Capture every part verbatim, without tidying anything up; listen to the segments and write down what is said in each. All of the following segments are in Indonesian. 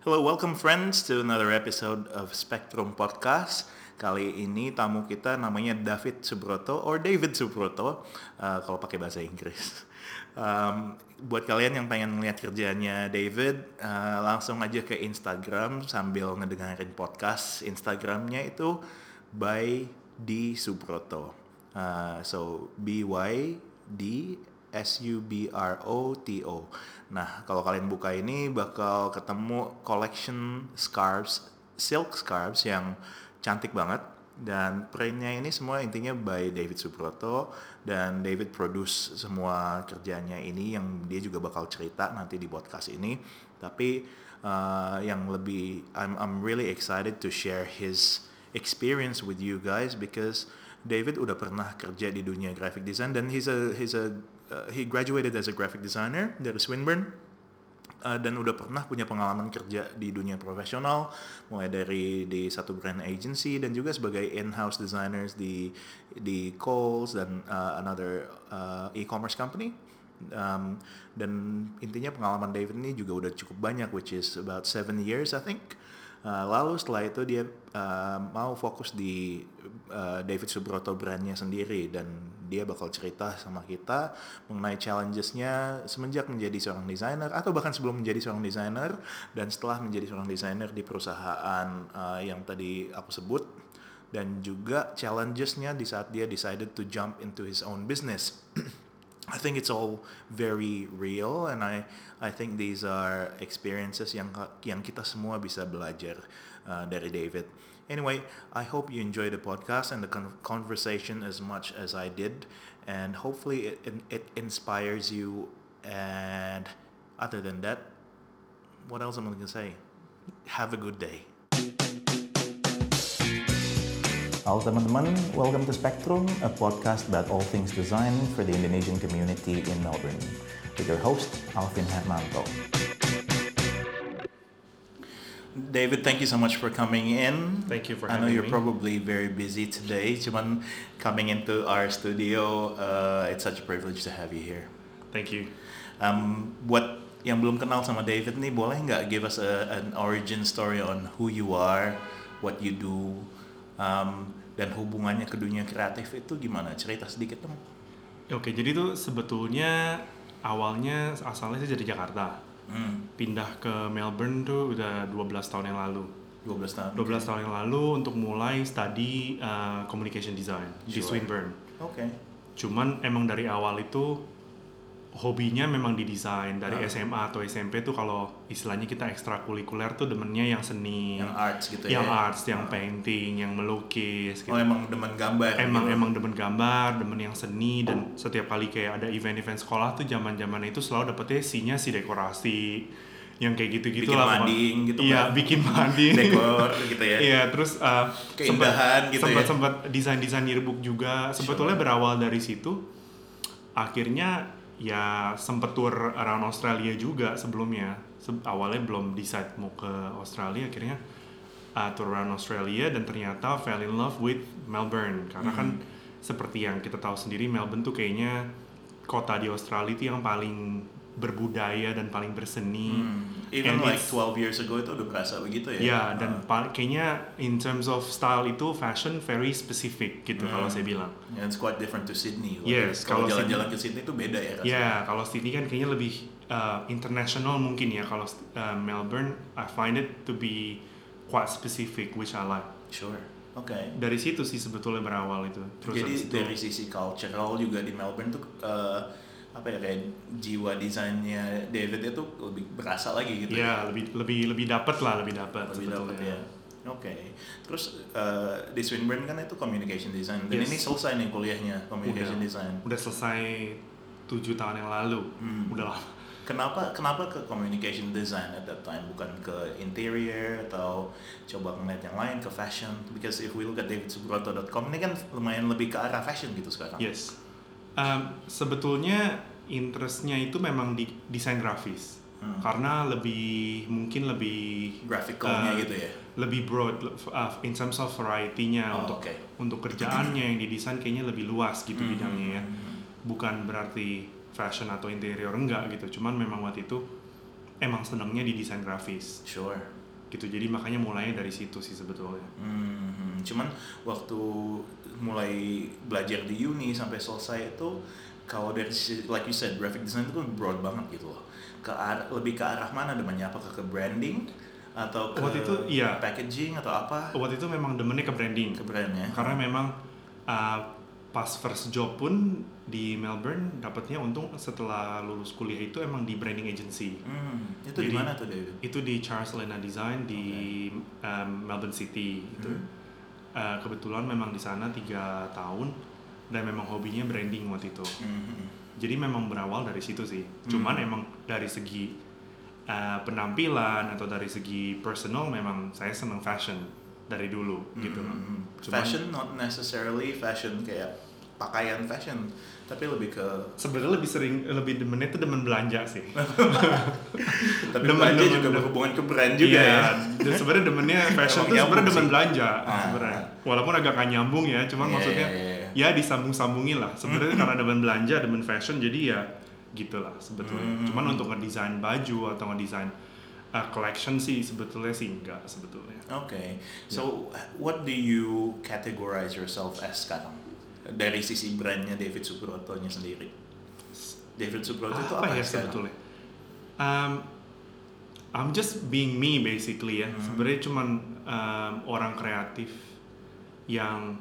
Hello, welcome friends to another episode of Spectrum Podcast. Kali ini tamu kita namanya David Subroto or David Subroto uh, kalau pakai bahasa Inggris. Um, buat kalian yang pengen ngeliat kerjanya David, uh, langsung aja ke Instagram sambil ngedengerin podcast. Instagramnya itu by D Subroto. Uh, so B Y D S U B R O T O. Nah, kalau kalian buka ini bakal ketemu collection scarves, silk scarves yang cantik banget. Dan printnya ini semua intinya by David Subroto. Dan David produce semua kerjanya ini yang dia juga bakal cerita nanti di podcast ini. Tapi uh, yang lebih, I'm, I'm really excited to share his experience with you guys because David udah pernah kerja di dunia graphic design dan he's a he's a uh, he graduated as a graphic designer dari Swinburne uh, dan udah pernah punya pengalaman kerja di dunia profesional mulai dari di satu brand agency dan juga sebagai in-house designers di di Kohl's dan uh, another uh, e-commerce company. Um, dan intinya pengalaman David ini juga udah cukup banyak, which is about seven years I think. Uh, lalu setelah itu dia uh, mau fokus di uh, David Subroto brandnya sendiri dan dia bakal cerita sama kita mengenai challenges-nya semenjak menjadi seorang desainer atau bahkan sebelum menjadi seorang desainer dan setelah menjadi seorang desainer di perusahaan uh, yang tadi aku sebut dan juga challenges-nya di saat dia decided to jump into his own business. I think it's all very real and I I think these are experiences yang yang kita semua bisa belajar uh, dari David. Anyway, I hope you enjoy the podcast and the con- conversation as much as I did and hopefully it, it, it inspires you and other than that, what else am I going to say? Have a good day. Halo teman-teman, welcome to Spectrum, a podcast about all things design for the Indonesian community in Melbourne. With your host, Alvin Hermanto. David, thank you so much for coming in. Thank you for having me. I know you're me. probably very busy today, cuman coming into our studio, uh, it's such a privilege to have you here. Thank you. Um, buat yang belum kenal sama David nih, boleh nggak give us a, an origin story on who you are, what you do, Um, dan hubungannya ke dunia kreatif itu gimana? Cerita sedikit dong. Oke, jadi tuh sebetulnya awalnya asalnya sih dari Jakarta. Hmm. Pindah ke Melbourne tuh udah dua belas tahun yang lalu. dua belas tahun. dua belas tahun yang lalu untuk mulai study uh, communication design sure. di Swinburne. Oke. Okay. Cuman emang dari awal itu hobinya memang di desain dari uh. S M A atau S M P tuh kalau istilahnya kita ekstrakurikuler tuh demennya yang seni, yang arts gitu yang ya. Yang arts, yang uh. painting, yang melukis gitu. Oh, emang demen gambar. Emang gitu. emang demen gambar, demen yang seni dan setiap kali kayak ada event-event sekolah tuh zaman-zaman itu selalu dapetnya C-nya si dekorasi yang kayak gitu-gitu bikin lah. Mading, gitu iya, kan. bikin mading. Dekor gitu ya. Iya, terus uh, keindahan gitu sempat, ya. Sempat desain-desain yearbook juga. Sebetulnya sure. berawal dari situ. Akhirnya ya sempet tour around Australia juga sebelumnya. Se- awalnya belum decide mau ke Australia, akhirnya uh, tour around Australia dan ternyata fell in love with Melbourne karena mm. kan seperti yang kita tahu sendiri Melbourne tuh kayaknya kota di Australia itu yang paling berbudaya dan paling berseni. Hmm. Even and like twelve years ago itu udah berasa begitu ya. Ya, dan uh. pa- kayaknya in terms of style itu fashion very specific gitu hmm. kalau saya bilang. Yeah, it's quite different to Sydney. Yes, kalau jalan-jalan ke Sydney itu beda ya rasanya. Ya, yeah, kalau Sydney kan kayaknya lebih uh, international mungkin ya. Kalau uh, Melbourne, I find it to be quite specific, which I like. Sure. Oke. Okay. Dari situ sih sebetulnya berawal itu. Terus jadi dari sisi cultural juga di Melbourne tuh uh, apa ya kayak jiwa desainnya David itu lebih berasa lagi gitu. Ya, lebih lebih lebih dapat lah, lebih dapat lebih dapat ya. Oke. Okay. Terus uh, di Swinburne kan itu communication design. Dan yes. ini selesai nih kuliahnya communication udah, design. Udah selesai tujuh tahun yang lalu. Hmm. Udah lama. Kenapa kenapa ke communication design at that time bukan ke interior atau coba ngeliat yang lain ke fashion? Because if we look at david subroto dot com ini kan lumayan lebih ke arah fashion gitu sekarang. Yes. Um, sebetulnya interestnya itu memang di desain grafis hmm. karena lebih mungkin lebih graphicalnya uh, gitu ya, lebih broad uh, in terms of variety-nya oh, untuk okay. untuk kerjaannya yang didesain kayaknya lebih luas gitu hmm. bidangnya ya, bukan berarti fashion atau interior enggak gitu, cuman memang waktu itu emang senangnya di desain grafis. Sure. Gitu, jadi makanya mulainya dari situ sih sebetulnya. Hmm, cuman waktu mulai belajar di uni sampai selesai itu, kalau dari like you said graphic design itu kan broad banget gitu loh. Ke arah, lebih ke arah mana demennya? Apakah ke branding atau ke waktu itu, iya. packaging atau apa? Waktu itu memang demennya ke branding. Ke brandnya. Karena memang uh, pas first job pun di Melbourne dapatnya untung setelah lulus kuliah itu emang di branding agency. Hmm, itu di mana tuh David? Itu di Charles Lena Design di okay. um, Melbourne City itu. Hmm. Uh, kebetulan memang di sana tiga tahun dan memang hobinya branding waktu itu. Hmm. Jadi memang berawal dari situ sih. Hmm. Cuman emang dari segi uh, penampilan atau dari segi personal memang saya senang fashion dari dulu hmm. gitu loh. Cuman, fashion not necessarily fashion kayak pakaian fashion, tapi lebih ke sebenarnya lebih sering lebih demennya itu demen belanja sih. Tapi demen, belanja demen, juga demen, berhubungan ke brand juga iya, ya. Sebenarnya demennya fashion tuh sebenarnya demen belanja ah, sebenarnya. Walaupun agak gak nyambung ya, cuman yeah, maksudnya yeah, yeah. ya disambung-sambungin lah. Sebenarnya karena demen belanja, demen fashion, jadi ya gitulah sebetulnya. Mm-hmm. Cuman untuk ngedesain baju atau ngedesain uh, collection sih sebetulnya sih enggak sebetulnya. Oke. Okay. So yeah. What do you categorize yourself as sekarang? Dari sisi brandnya David Subroto-nya sendiri. David Subroto ah, itu apa, apa ya sebetulnya? Um, I'm just being me basically ya. Hmm. Sebenarnya cuman um, orang kreatif yang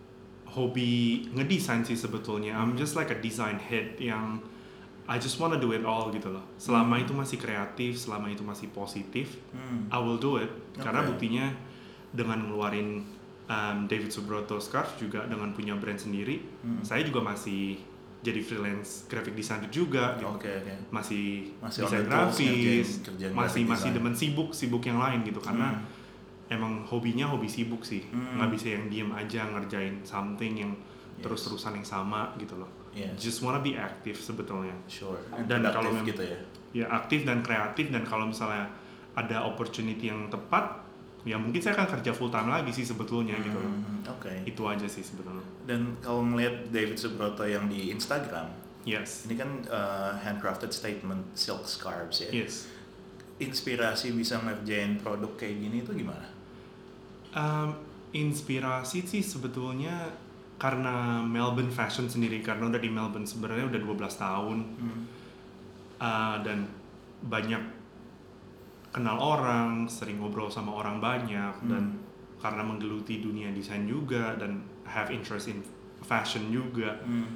hobi ngedesain sih sebetulnya. I'm just like a design head yang I just wanna do it all gitu loh. Selama hmm. itu masih kreatif, selama itu masih positif, hmm. I will do it. Okay. Karena buktinya dengan ngeluarin Um, David Subroto Scarf juga dengan punya brand sendiri, hmm. saya juga masih jadi freelance graphic designer juga, gitu. Okay, okay. masih, masih desain grafis, masih masih demen sibuk sibuk yang lain gitu, karena hmm. emang hobinya hobi sibuk sih, hmm. nggak bisa yang diem aja ngerjain something yang yes. terus-terusan yang sama gitu loh. Yes. Just wanna be active sebetulnya. Sure. Dan kalau memang gitu ya. Ya aktif dan kreatif, dan kalau misalnya ada opportunity yang tepat, ya mungkin saya akan kerja full time lagi sih sebetulnya hmm, gitu. Oke. Okay. Itu aja sih sebetulnya. Dan kalau melihat David Subroto yang di Instagram, yes. Ini kan uh, handcrafted statement silk scarves ya. Yes. Inspirasi bisa ngerjain produk kayak gini itu gimana? Um, inspirasi sih sebetulnya karena Melbourne fashion sendiri, karena udah di Melbourne sebenarnya udah dua belas tahun. Hmm. Uh, dan banyak kenal orang, sering ngobrol sama orang banyak, hmm. dan karena menggeluti dunia desain juga dan have interest in fashion juga, hmm.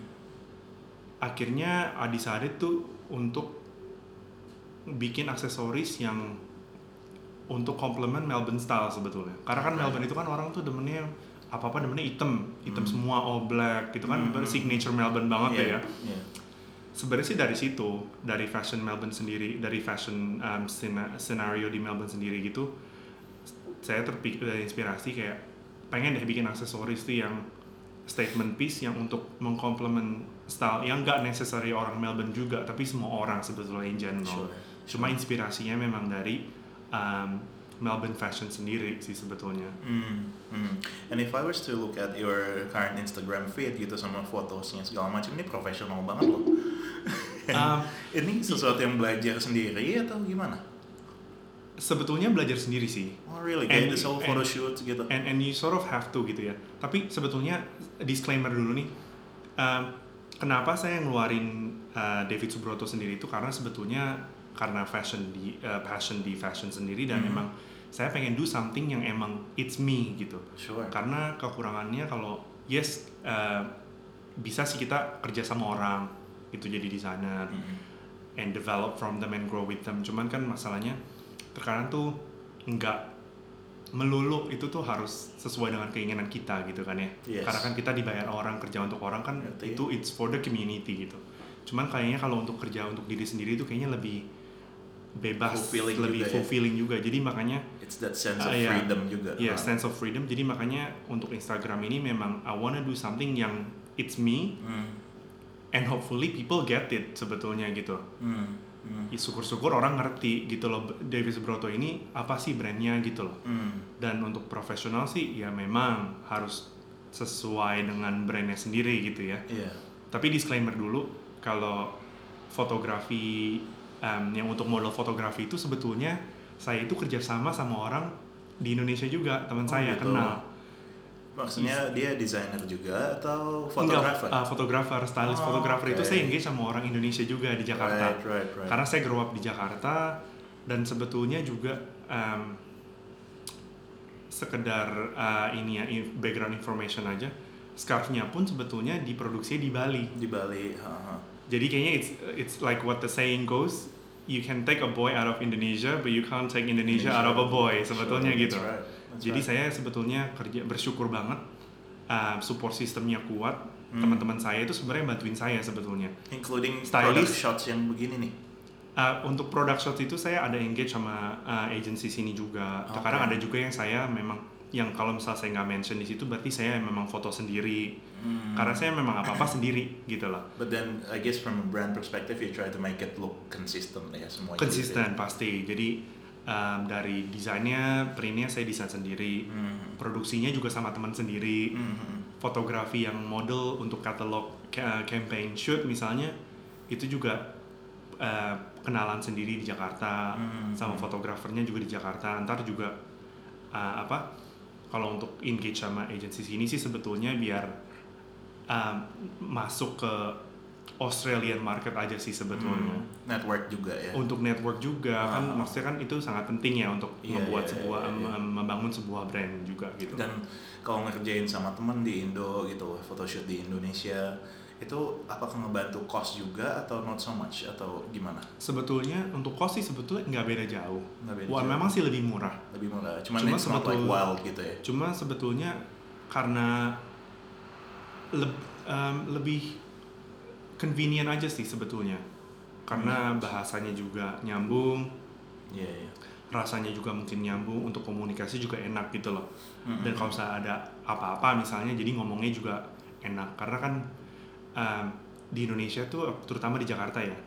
akhirnya I decided tuh untuk bikin aksesoris yang untuk complement Melbourne style sebetulnya. Karena kan okay. Melbourne itu kan orang tuh demennya apa-apa demennya hitam, hitam hmm. semua all black, gitu kan, hmm. signature Melbourne banget yeah. ya. Yeah. Sebenarnya sih dari situ, dari fashion Melbourne sendiri, dari fashion um, scenario di Melbourne sendiri gitu, saya terpikir dari inspirasi kayak pengen deh bikin aksesoris tuh yang statement piece yang untuk mengkomplement style yang nggak necessary orang Melbourne juga, tapi semua orang sebetulnya in general. Sure. Cuma inspirasinya memang dari um, Melbourne fashion sendiri sih sebetulnya. Hmm, hmm. And if I was to look at your current Instagram feed gitu sama fotosnya segala macam, ini profesional banget loh. um, ini sesuatu yang belajar sendiri atau gimana? Sebetulnya belajar sendiri sih. Oh really? Kayak the whole photo shoot gitu. And and you sort of have to gitu ya. Tapi sebetulnya disclaimer dulu nih. Um, kenapa saya ngeluarin uh, David Subroto sendiri itu karena sebetulnya karena fashion di uh, passion di fashion sendiri, dan mm-hmm. emang saya pengen do something yang emang it's me gitu. Sure. Karena kekurangannya kalau yes uh, bisa sih kita kerja sama orang itu jadi desainer mm-hmm. and develop from them and grow with them. Cuman kan masalahnya terkadang tuh nggak melulu itu tuh harus sesuai dengan keinginan kita gitu kan ya. Yes. Karena kan kita dibayar orang, kerja untuk orang kan Ngerti. Itu it's for the community gitu. Cuman kayaknya kalau untuk kerja untuk diri sendiri itu kayaknya lebih bebas, fulfilling lebih juga, fulfilling ya? juga. Jadi makanya it's that sense of uh, yeah, freedom juga. Yeah, sense of freedom. Jadi makanya untuk Instagram ini memang I wanna do something yang it's me mm. and hopefully people get it sebetulnya gitu. Mm. Mm. Syukur-syukur orang ngerti gitu loh, David Subroto ini apa sih brandnya gitu loh. Mm. Dan untuk profesional sih ya memang harus sesuai dengan brandnya sendiri gitu ya. Yeah. Tapi disclaimer dulu, kalau fotografi um, yang untuk model fotografi itu sebetulnya saya itu kerjasama sama orang di Indonesia juga, teman Oh, saya gitu. kenal. Maksudnya dia desainer juga atau fotografer? Enggak, uh, fotografer, stylist Oh, fotografer okay. itu saya engage sama orang Indonesia juga di Jakarta. Right, right, right. Karena saya grow up di Jakarta dan sebetulnya juga um, sekedar uh, ini ya background information aja. Scarf-nya pun sebetulnya diproduksi di Bali. Di Bali. Uh-huh. Jadi kayaknya it's it's like what the saying goes, you can take a boy out of Indonesia, but you can't take Indonesia, Indonesia. out of a boy. Sebetulnya sure, gitu. That's right. That's Jadi right. saya sebetulnya kerja bersyukur banget. Uh, support sistemnya kuat, hmm. teman-teman saya itu sebenarnya bantuin saya sebetulnya. Including stylist, product shots yang begini nih. Uh, untuk product shots itu saya ada engage sama uh, agency sini juga. Okay. Kadang ada juga yang saya memang yang kalau misalnya saya nggak mention di situ berarti saya memang foto sendiri. Hmm. Karena saya memang apa-apa sendiri gitu lah. But then I guess from a brand perspective you try to make it look consistent ya semuanya. Konsisten pasti. Jadi um, dari desainnya, printnya saya desain sendiri. Hmm. Produksinya juga sama teman sendiri. Hmm. Fotografi yang model untuk catalog uh, campaign shoot misalnya itu juga uh, kenalan sendiri di Jakarta. Hmm. Sama fotografernya juga di Jakarta. Ntar juga uh, apa? Kalau untuk engage sama agency sini sih sebetulnya biar um, masuk ke Australian market aja sih sebetulnya. Hmm, network juga ya. Untuk network juga uh, kan maksudnya kan itu sangat penting ya untuk iya, membuat iya, sebuah iya, iya. membangun sebuah brand juga gitu. Dan kalau ngerjain sama temen di Indo gitu, photoshoot di Indonesia itu apakah ngebantu cost juga atau not so much atau gimana? Sebetulnya untuk cost sih sebetulnya nggak beda jauh. Nggak beda Wah, jauh. memang sih lebih murah. Lebih murah. Cuman Cuma it's not like wild gitu ya. Cuma sebetulnya karena le, um, lebih convenient aja sih sebetulnya. Karena hmm. bahasanya juga nyambung. Iya, yeah, yeah. Rasanya juga mungkin nyambung, untuk komunikasi juga enak gitu loh. Mm-hmm. Dan kalau misalnya ada apa-apa misalnya jadi ngomongnya juga enak. Karena kan um, di Indonesia tuh terutama di Jakarta ya.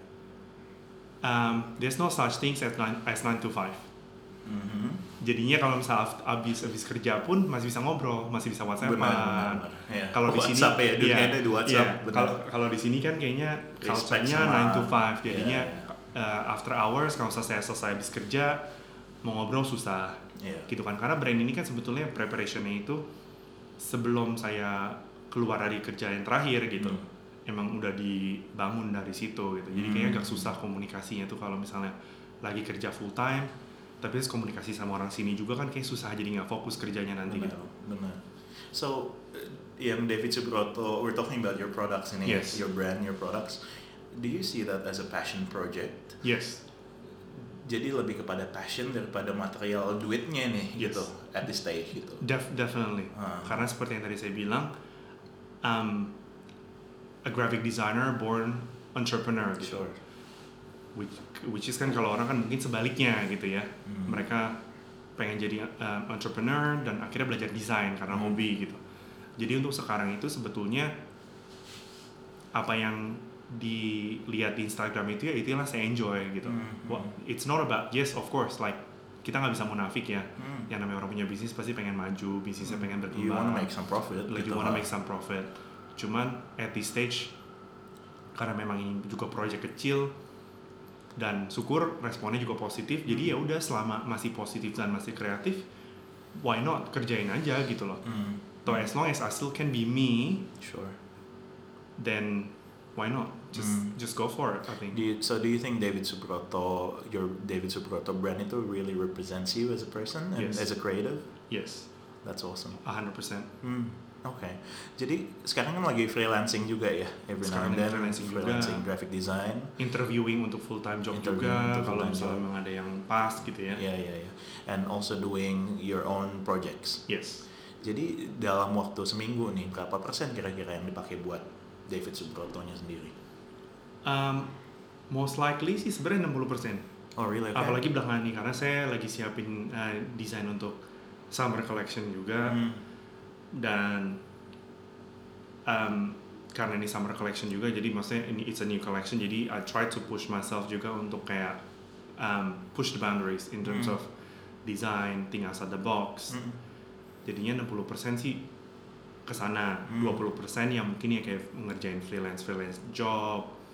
Um, there's no such thing as nine to five. Mm-hmm. Jadinya kalau misalnya abis abis kerja pun masih bisa ngobrol, masih bisa WhatsApp-an. Ya. Kalau di sini WhatsApp ya, dunia ya, ada di WhatsApp. Ya, kalau kalau di sini kan kayaknya culture-nya nine to five. Jadinya yeah, yeah. Uh, after hours kalau saya selesai habis kerja mau ngobrol susah. Yeah. Gitu kan. Karena brand ini kan sebetulnya preparation-nya itu sebelum saya keluar dari kerja yang terakhir gitu. Hmm. Emang udah dibangun dari situ gitu. Jadi kayaknya agak susah komunikasinya tuh kalau misalnya lagi kerja full time. Tapi terus komunikasi sama orang sini juga kan kayak susah, jadi nggak fokus kerjanya nanti. Benar, gitu. Benar. So, yang David Subroto, we're talking about your products ini, yes. your brand, your products. Do you see that as a passion project? Yes. Jadi lebih kepada passion daripada material duitnya nih, yes. gitu, at this stage gitu. Def- definitely. Uh. Karena seperti yang tadi saya bilang, um, a graphic designer born entrepreneur. Gitu. Sure. Which, which is kan kalau orang kan mungkin sebaliknya gitu ya. Hmm. Mereka pengen jadi uh, entrepreneur dan akhirnya belajar desain karena hmm. hobi gitu. Jadi untuk sekarang itu sebetulnya apa yang dilihat di Instagram itu ya itulah saya enjoy gitu. Hmm. Well, it's not about, yes of course, like kita nggak bisa munafik ya. Hmm. Yang namanya orang punya bisnis pasti pengen maju, bisnisnya pengen berkembang. You wanna make some profit. Like gitu you wanna lah. make some profit. Cuman at this stage karena memang ini juga project kecil dan syukur responnya juga positif. Hmm. Jadi ya udah selama masih positif dan masih kreatif, why not kerjain aja gitu loh. Hmm. So as long as I still can be me, sure. Then why not? Just hmm. just go for it. I think. Do you, so do you think David Subroto, your David Subroto brand itu really represents you as a person and yes. as a creative? Yes. That's awesome. A hundred percent. Oke, okay. Jadi sekarang kan lagi freelancing juga ya, every now and then freelancing, freelancing graphic design, interviewing untuk full time job interviewing juga kalau misalnya memang ada yang pas gitu ya. Iya iya iya. And also doing your own projects. Yes. Jadi dalam waktu seminggu nih berapa persen kira-kira yang dipakai buat David Subroto-nya sendiri? Um, most likely sih sebenarnya enam puluh persen. Oh really? Okay. Apalagi belakangan nih karena saya lagi siapin uh, desain untuk summer collection juga. Hmm. Dan um, karena ini summer collection juga jadi maksudnya ini it's a new collection jadi I try to push myself juga untuk kayak um, push the boundaries in terms mm. of design, think outside the box. Mm. Jadinya enam puluh persen sih kesana, mm. dua puluh persen yang mungkin ya kayak ngerjain freelance freelance job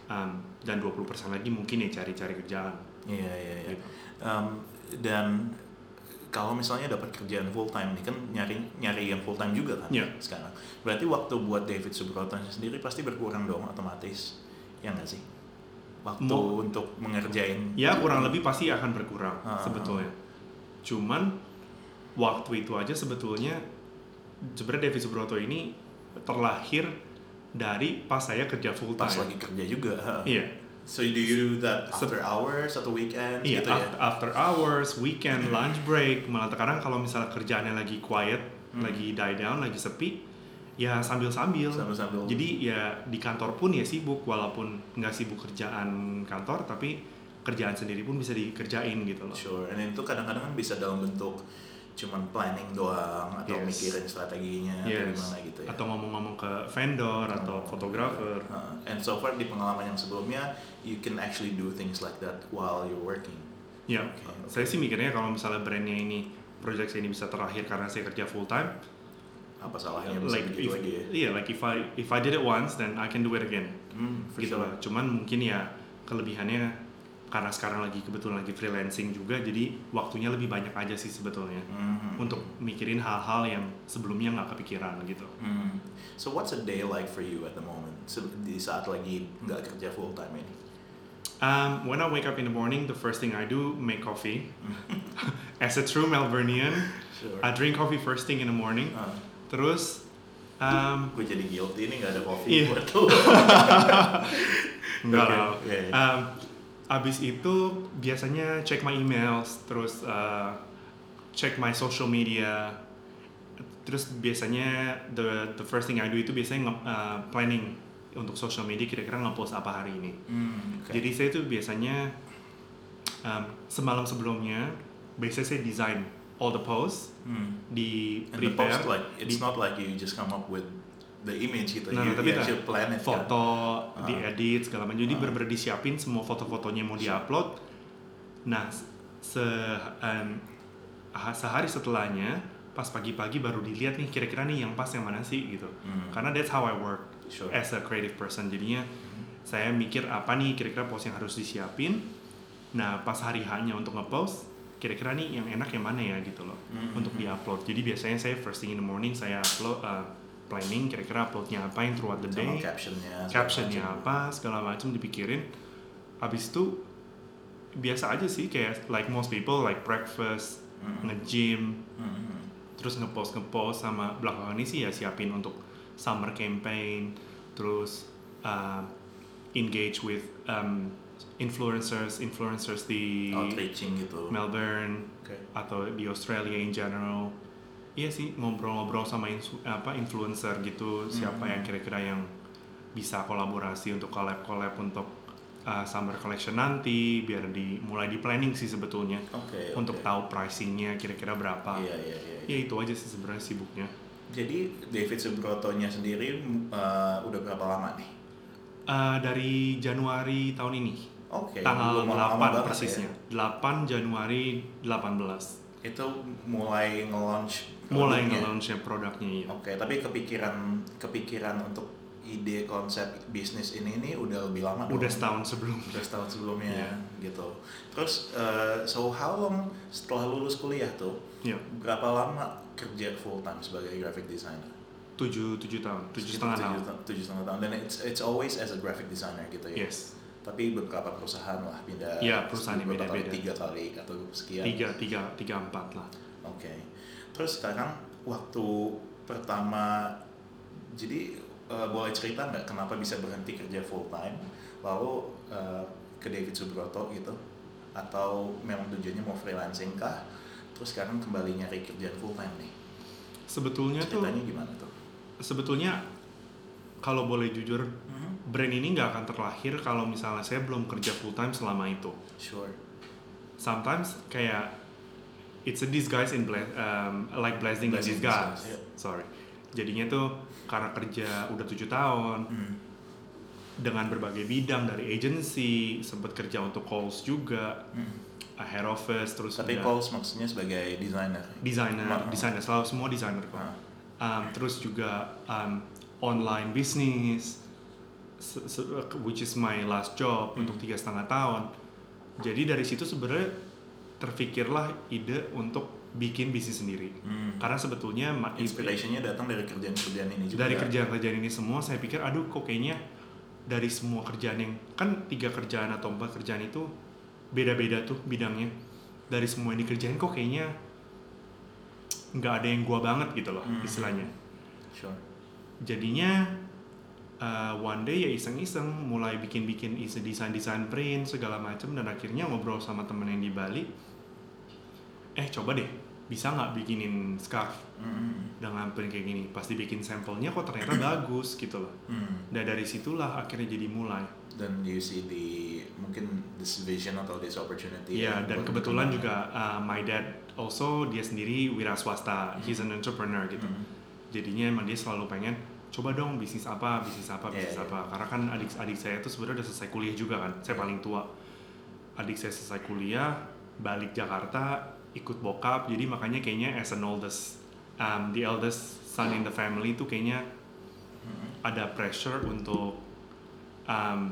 um, dan dua puluh persen lagi mungkin ya cari-cari kerjaan. Iya iya iya. Gitu. Um, dan kalau misalnya dapat kerjaan full time nih kan nyari nyari yang full time juga kan Iya. sekarang. Berarti waktu buat David Subroto sendiri pasti berkurang dong otomatis. Ya nggak sih? Waktu Mo- untuk mengerjain. Ya kurang lebih pasti akan berkurang Ah. sebetulnya. Cuman waktu itu aja sebetulnya sebenarnya David Subroto ini terlahir dari pas saya kerja full time. Pas lagi kerja juga. ha. Iya. So do you do that after hours atau weekend Iya, gitu ya? af- after hours, weekend, lunch break, malah terkadang kalau misalnya kerjaannya lagi quiet, Hmm. lagi die down, lagi sepi, ya sambil-sambil. Sambil-sambil. Jadi ya di kantor pun ya sibuk, walaupun nggak sibuk kerjaan kantor, tapi kerjaan sendiri pun bisa dikerjain gitu loh. Sure, and itu kadang-kadang kan bisa dalam bentuk cuman planning doang atau Yes. mikirin strateginya atau Yes. gimana gitu ya. Atau ngomong-ngomong ke vendor atau fotografer. Uh, and so far di pengalaman yang sebelumnya, you can actually do things like that while you're working. Ya, Oke, oke. saya sih mikirnya kalau misalnya brandnya ini, project saya ini bisa terakhir karena saya kerja full time, Apa salahnya bisa like begitu if, aja ya? iya, like if I if I did it once, then I can do it again. Hmm, for Gitu sure. lah. Cuman mungkin ya kelebihannya karena sekarang lagi kebetulan lagi freelancing juga, jadi waktunya lebih banyak aja sih sebetulnya Hmm. untuk mikirin hal-hal yang sebelumnya nggak kepikiran gitu. Hmm. So what's a day like for you at the moment? Se- Di saat lagi nggak kerja full time ini? Um, when I wake up in the morning, the first thing I do make coffee. As a true Melburnian, Sure. I drink coffee first thing in the morning. Uh, Terus, um, gue jadi guilty ini nggak ada coffee Iya. buat lu. enggak Oke, lah. iya, iya. Um, abis itu biasanya check my emails, terus uh, check my social media. Terus biasanya the the first thing I do itu biasanya nge- uh, planning untuk social media kira-kira nge-post apa hari ini. Hmm, oke. Jadi saya tuh biasanya um, semalam sebelumnya biasanya saya design all the posts Hmm. di And the prepare post like it's di not like you just come up with the image gitu. Nah, you, tapi you tak, actually plan it kan. foto, Ah. diedit segala macam. Jadi Ah. bener-bener disiapin semua foto-fotonya mau diupload. Nah, se um, ah, sehari setelahnya pas pagi-pagi baru dilihat nih kira-kira nih yang pas yang mana sih gitu. Hmm. Karena that's how I work Sure. as a creative person. Jadinya saya mikir apa nih kira-kira post yang harus disiapin. Nah, pas hari hanya untuk ngepost, kira-kira nih yang enak yang mana ya gitu loh Hmm. untuk diupload. Jadi biasanya saya first thing in the morning saya upload uh, planning kira-kira uploadnya apa yang throughout the Sama day, captionnya. segala captionnya macam. apa segala macam dipikirin. Habis itu biasa aja sih kayak like most people like breakfast, Hmm. nge-gym, Hmm. terus ngepost ngepost sama belakangan ini sih ya siapin untuk summer campaign, terus uh, engage with um, influencers influencers di Outreaching gitu. Melbourne Oke. atau di Australia in general. Iya sih ngobrol-ngobrol sama insu- apa influencer gitu, siapa Hmm. yang kira-kira yang bisa kolaborasi untuk collab-collab untuk uh, summer collection nanti, biar di mulai di planning sih sebetulnya Oke. untuk oke. tahu pricingnya kira-kira berapa. Iya iya iya. Ya itu aja sih sebenarnya sibuknya. Jadi David Subroto-nya sendiri uh, udah berapa lama nih? Uh, dari Januari tahun ini, Oke. tanggal belum lama delapan banget persisnya, ya. delapan Januari delapan belas. Itu mulai nge-launch Mulai produknya. nge-launchnya produknya ya. Oke, tapi kepikiran kepikiran untuk ide konsep bisnis ini ini udah lebih lama dong? Udah setahun sebelum. Udah setahun sebelumnya Iya. gitu. Terus uh, so how long setelah lulus kuliah tuh Ya, berapa lama kerja full time sebagai graphic designer? tujuh tujuh tahun, tujuh Sekitar setengah tahun. tujuh ta- Tujuh setengah tahun. Dan it's it's always as a graphic designer gitu ya. Yes, Tapi beberapa perusahaan lah pindah. Iya, perusahaan yang beberapa kali, beda-beda. Tiga kali atau sekian. tiga tiga tiga empat lah. Oke. Terus sekarang waktu pertama, jadi uh, boleh cerita nggak kenapa bisa berhenti kerja full time, lalu uh, ke David Subroto gitu, atau memang tujuannya mau freelancing kah? Terus sekarang kembali nyari kerjaan full time nih. Sebetulnya tuh, Ceritanya gimana tuh? sebetulnya kalau boleh jujur, Mhm. brand ini nggak akan terlahir kalau misalnya saya belum kerja full time selama itu. Sure. Sometimes kayak it's a disguise in ble- um, like blessing in Blessing in disguise. disguise, yeah. Sorry. Jadinya tuh karena kerja udah tujuh tahun Hmm. dengan berbagai bidang dari agency, sempat kerja untuk calls juga, Hmm. uh, head office, terus Tapi udah calls maksudnya sebagai designer. designer, Ah. designer selalu semua designer kok. Ah. Um, terus juga um, online business, which is my last job hmm. untuk tiga setengah tahun. Jadi dari situ sebenarnya terfikirlah ide untuk bikin bisnis sendiri. Hmm. Karena sebetulnya inspirationnya datang dari kerjaan-kerjaan ini juga. Dari kerjaan-kerjaan ini semua saya pikir aduh kok kayaknya dari semua kerjaan yang kan tiga kerjaan atau empat kerjaan itu beda-beda tuh bidangnya. Dari semua yang dikerjain kok kayaknya nggak ada yang gua banget gitu loh hmm. istilahnya. Sure. Jadinya uh, one day ya iseng-iseng mulai bikin-bikin desain-desain print segala macam dan akhirnya ngobrol sama temen yang di Bali. Eh coba deh bisa nggak bikinin scarf mm. dengan print kayak gini? Pasti bikin sampelnya kok ternyata bagus gitu loh. Mm. Dan dari situlah akhirnya jadi mulai. Dan you see the mungkin this vision atau this opportunity. Iya, dan kebetulan juga uh, my dad also dia sendiri wira swasta, mm. he's an entrepreneur gitu. Mm. Jadinya emang dia selalu pengen coba dong bisnis apa, bisnis apa, bisnis yeah, apa. Yeah. Karena kan adik-adik saya tuh sebenarnya udah selesai kuliah juga kan. Saya paling tua. Adik saya selesai kuliah, balik Jakarta, ikut bokap, jadi makanya kayaknya as an oldest, um, the eldest son in the family itu kayaknya mm. ada pressure untuk um,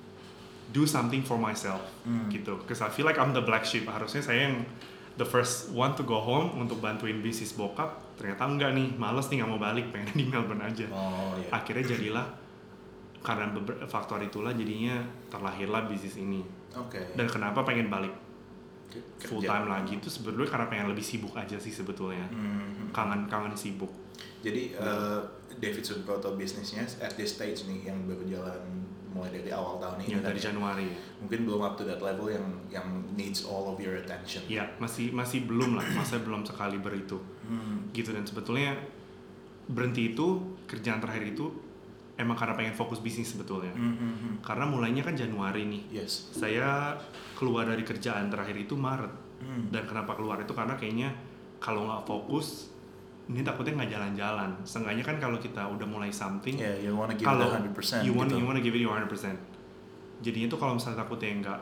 do something for myself mm. gitu. Because I feel like I'm the black sheep. Harusnya saya yang the first one to go home untuk bantuin bisnis bokap. Ternyata enggak nih, males nih nggak mau balik, pengen di Melbourne aja. Oh, yeah. Akhirnya jadilah karena beberapa faktor itulah jadinya terlahirlah bisnis ini. Okay. Dan kenapa pengen balik full time lagi itu sebenarnya karena pengen lebih sibuk aja sih sebetulnya. Mm-hmm. Kangen-kangen sibuk. Jadi uh, David Subroto bisnisnya at this stage nih yang berjalan mulai dari awal tahun ini. Ya, dari Januari. Mungkin belum up to that level yang yang needs all of your attention. Ya, masih masih belum lah, masih belum sekali beritu. Mm. Gitu dan sebetulnya berhenti itu kerjaan terakhir itu emang karena pengen fokus bisnis sebetulnya. Mm-hmm. Karena mulainya kan Januari nih. Yes. Saya keluar dari kerjaan terakhir itu Maret. Mm. Dan kenapa keluar itu karena kayaknya kalau nggak fokus, ini takutnya nggak jalan-jalan. Seenggaknya kan kalau kita udah mulai something, yeah, you wanna give it one hundred percent. You want gitu. you wanna give it one hundred percent. Jadinya tuh kalau misalnya takutnya nggak,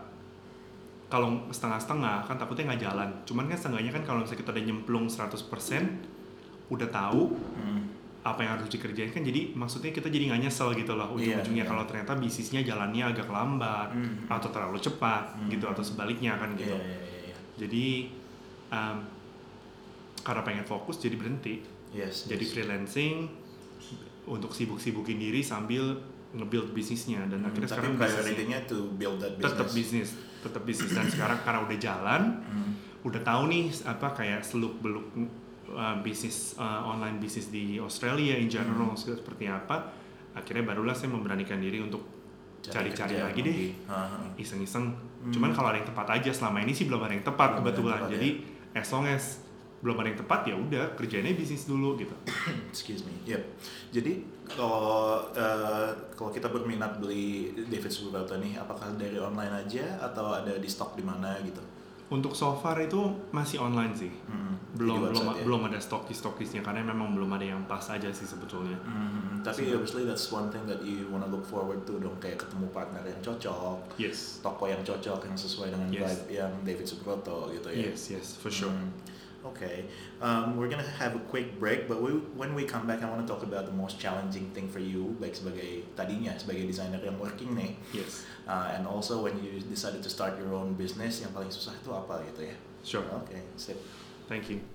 kalau setengah-setengah kan takutnya nggak jalan. Cuman kan seenggaknya kan kalau misalnya kita udah nyemplung seratus persen, udah tahu. Mm. apa yang harus dikerjain kan jadi maksudnya kita jadi nggak nyesel gitu loh ujung-ujungnya yeah, yeah. kalau ternyata bisnisnya jalannya agak lambat mm. atau terlalu cepat mm. gitu atau sebaliknya kan gitu yeah, yeah, yeah, yeah. Jadi um, karena pengen fokus jadi berhenti yes, jadi yes. freelancing untuk sibuk-sibukin diri sambil nge-build bisnisnya dan mm, akhirnya tapi sekarang priority-nya to build that business tetap bisnis tetap bisnis dan sekarang karena udah jalan mm. udah tahu nih apa kayak seluk-beluk Uh, bisnis uh, online bisnis di Australia in general hmm. seperti apa akhirnya barulah saya memberanikan diri untuk cari-cari lagi deh uh-huh. iseng-iseng hmm. cuman kalau ada yang tepat aja selama ini sih belum ada yang tepat belum kebetulan tepat, jadi ya. As long as belum ada yang tepat ya udah kerjainnya bisnis dulu gitu. Excuse me. Yep. Jadi kalau uh, kalau kita berminat beli David Subroto nih apakah dari online aja atau ada di stok di mana gitu? Untuk so far itu masih online sih, mm-hmm. belum belum ya? belum ada stokis-stokisnya karena memang belum ada yang pas aja sih sebetulnya. Mm-hmm. Tapi so, obviously that's one thing that you wanna look forward to dong kayak ketemu partner yang cocok, yes. toko yang cocok yang sesuai dengan yes. vibe yang David Subroto gitu ya. Yes yes for sure. Mm-hmm. Okay, um, we're gonna have a quick break, but we, when we come back, I want to talk about the most challenging thing for you, baik sebagai tadinya sebagai desainer yang working nih, yes, uh, and also when you decided to start your own business, yang paling susah itu apa gitu ya? Sure. Okay, sip. Thank you.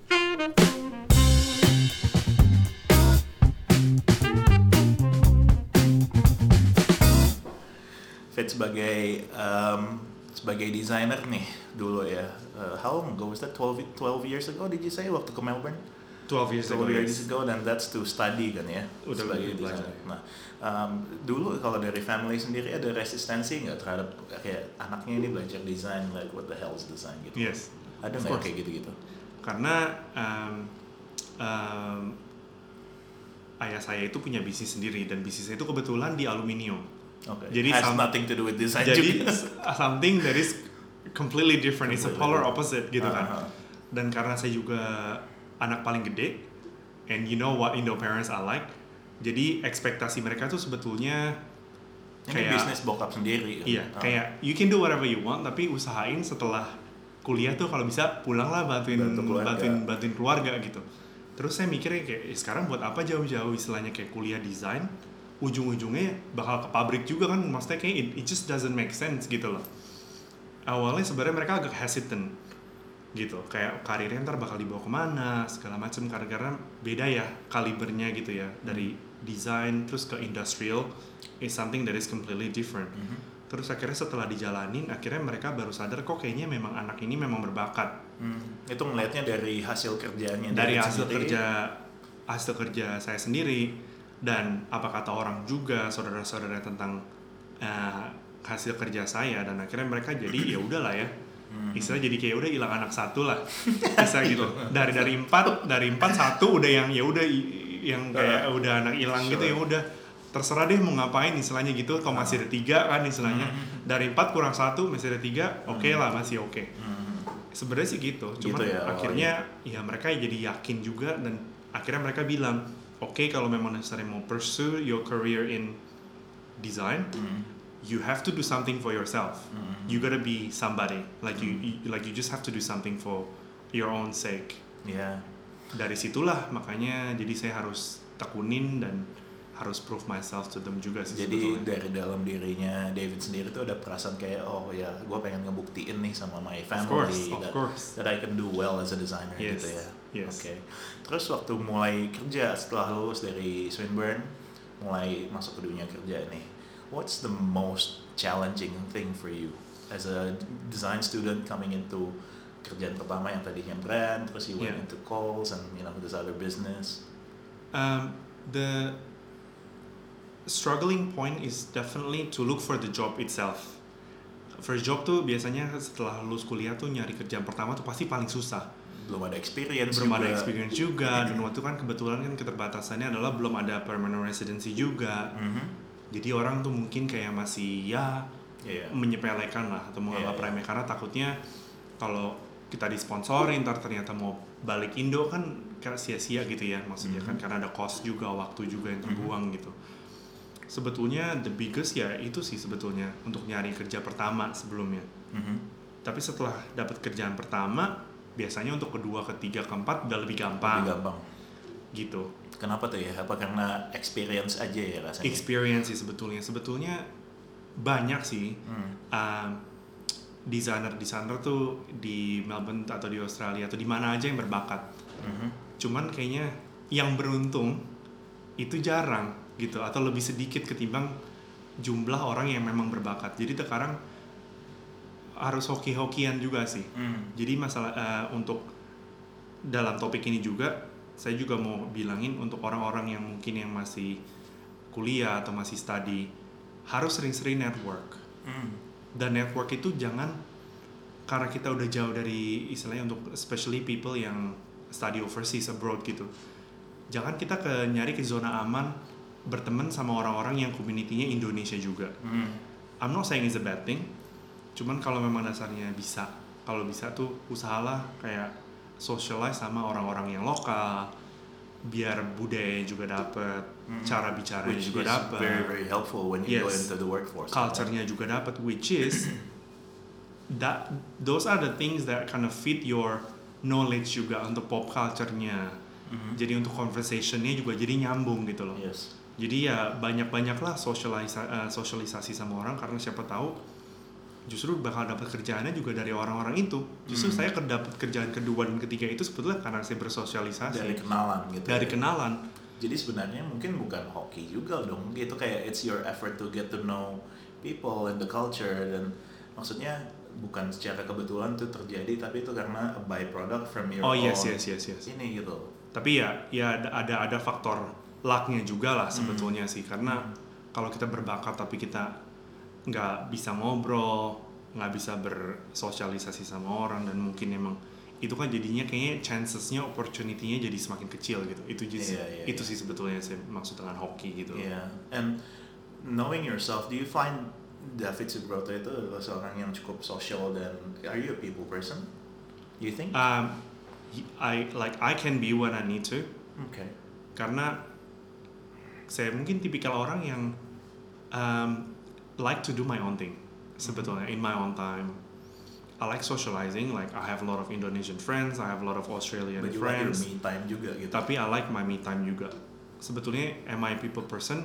Fit sebagai um, sebagai desainer nih dulu ya. Uh, how long ago was that? twelve, twelve years ago did you say waktu ke Melbourne? twelve years ago. twelve years ago dan that's to study kan ya. Udah sebagai desainer. Nah, um, dulu kalau dari family sendiri ada resistensi nggak terhadap kayak anaknya ini belajar desain, like what the hell is design gitu? Yes. Ada nggak kayak gitu-gitu? Karena um, um, ayah saya itu punya bisnis sendiri dan bisnisnya itu kebetulan di aluminium. Okay. Jadi has some, nothing to do with design. Jadi something that is completely different, it's a polar opposite gitu kan. Uh-huh. Dan karena saya juga anak paling gede, and you know what Indo parents are like, jadi ekspektasi mereka tuh sebetulnya ini kayak bisnis bokap sendiri. Iya, uh. kayak you can do whatever you want, tapi usahain setelah kuliah tuh kalau bisa pulanglah bantuin keluarga. bantuin bantuin keluarga gitu. Terus saya mikirnya kayak eh, sekarang buat apa jauh-jauh istilahnya kayak kuliah desain, ujung-ujungnya bakal ke pabrik juga kan, maksudnya kayak it, it just doesn't make sense gitu loh. Awalnya sebenarnya mereka agak hesitant gitu, kayak karirnya ntar bakal dibawa kemana segala macam, karena beda ya kalibernya gitu ya, dari desain terus ke industrial is something that is completely different. Mm-hmm. Terus akhirnya setelah dijalanin, akhirnya mereka baru sadar kok kayaknya memang anak ini memang berbakat. Hmm. Itu ngelihatnya dari hasil kerjanya dari hasil sendiri. kerja hasil kerja saya sendiri, dan apa kata orang juga, saudara-saudara tentang uh, hasil kerja saya, dan akhirnya mereka jadi ya udahlah ya, hmm. istilah jadi kayak udah hilang anak satu lah, bisa gitu. Dari dari empat dari empat satu udah yang ya udah yang kayak uh, udah anak hilang sure. gitu, ya udah terserah deh mau ngapain istilahnya gitu. Kalau uh. masih ada tiga kan istilahnya, hmm. dari empat kurang satu masih ada tiga, oke okay lah, masih oke. Okay. Hmm. Sebenarnya sih gitu, cuman gitu ya, akhirnya oh, iya. ya mereka jadi yakin juga, dan akhirnya mereka bilang, oke okay, kalau memang dasarnya mau pursue your career in design, mm. you have to do something for yourself. Mm. You gotta be somebody, like mm. you, you like you just have to do something for your own sake. Yeah. Dari situlah makanya jadi saya harus tekunin dan harus prove myself to them juga sih. Jadi sebetulnya. Dari dalam dirinya David sendiri tuh ada perasaan kayak oh ya gue pengen ngebuktiin nih sama my family of course, of that, course. that I can do well as a designer yes. gitu ya. Yes. Oke. Okay. Terus waktu mulai kerja setelah lulus dari Swinburne, mulai masuk ke dunia kerja nih, what's the most challenging thing for you as a design student coming into kerjaan pertama yang tadinya brand, terus you went yeah. into calls and you know this other business? Um, the struggling point is definitely to look for the job itself. First job tuh biasanya setelah lulus kuliah tuh nyari kerjaan pertama tuh pasti paling susah. Belum ada experience belum juga. ada experience juga dan waktu kan kebetulan kan keterbatasannya adalah belum ada permanent residency juga. Mm-hmm. Jadi orang tuh mungkin kayak masih ya yeah. menyepelekan lah atau menganggap yeah, remeh yeah. karena takutnya kalau kita disponsorin ntar ternyata mau balik Indo kan kayak sia-sia gitu ya maksudnya mm-hmm. kan karena ada cost juga, waktu juga yang terbuang mm-hmm. gitu. Sebetulnya the biggest ya itu sih sebetulnya untuk nyari kerja pertama sebelumnya. Mm-hmm. Tapi setelah dapat kerjaan pertama, biasanya untuk kedua, ketiga, keempat udah lebih gampang. Lebih gampang. Gitu. Kenapa tuh ya? Apa karena experience aja ya rasanya? Experience sih sebetulnya. Sebetulnya banyak sih hmm. uh, desainer-desainer tuh di Melbourne atau di Australia atau di mana aja yang berbakat. Mm-hmm. Cuman kayaknya yang beruntung itu jarang gitu atau lebih sedikit ketimbang jumlah orang yang memang berbakat. Jadi sekarang harus hoki-hokian juga sih. Mm. Jadi masalah uh, untuk dalam topik ini juga saya juga mau bilangin untuk orang-orang yang mungkin yang masih kuliah atau masih study harus sering-sering network. Mm. Dan network itu jangan karena kita udah jauh dari istilahnya untuk especially people yang study overseas abroad gitu. Jangan kita ke nyari ke zona aman berteman sama orang-orang yang community-nya Indonesia juga. Mm. I'm not saying it's a bad thing. Cuman kalau memang dasarnya bisa, kalau bisa tuh usahalah kayak socialize sama orang-orang yang lokal, biar budaya juga dapet, mm-hmm. cara bicaranya which juga dapet. Very very helpful when you yes. go into the workforce. Culture-nya juga dapet, which is that those are the things that kind of fit your knowledge juga untuk pop culture-nya. Mm-hmm. Jadi untuk conversation-nya juga jadi nyambung gitu loh. Yes. Jadi ya banyak-banyaklah sosialisa- uh, sosialisasi sama orang karena siapa tahu justru bakal dapat kerjaannya juga dari orang-orang itu. Justru hmm. saya dapat kerjaan kedua dan ketiga itu sebetulnya karena saya bersosialisasi. Dari kenalan gitu. Dari ya. kenalan. Jadi sebenarnya mungkin bukan hoki juga dong. Gitu kayak it's your effort to get to know people and the culture, dan maksudnya bukan secara kebetulan itu terjadi, tapi itu karena a byproduct from your oh, own. Oh yes yes yes yes. Ini gitu. Tapi ya ya ada ada faktor lucknya juga lah sebetulnya hmm. sih, karena hmm. kalau kita berbakat tapi kita nggak bisa ngobrol, nggak bisa bersosialisasi sama orang, dan mungkin emang itu kan jadinya kayaknya chancesnya, opportunity-nya jadi semakin kecil gitu. Itu just, yeah, yeah, itu yeah. sih sebetulnya saya maksud dengan hoki gitu. Yeah. And knowing yourself, do you find David Subroto itu adalah seorang yang cukup social, dan are you a people person? You think? Um, I like I can be when I need to. Okay. Karena saya mungkin tipikal orang yang um, like to do my own thing sebetulnya in my own time. I like socializing, like I have a lot of Indonesian friends, I have a lot of Australian But you friends. Like your me time juga gitu. Tapi I like my me time juga. Sebetulnya am I a people person?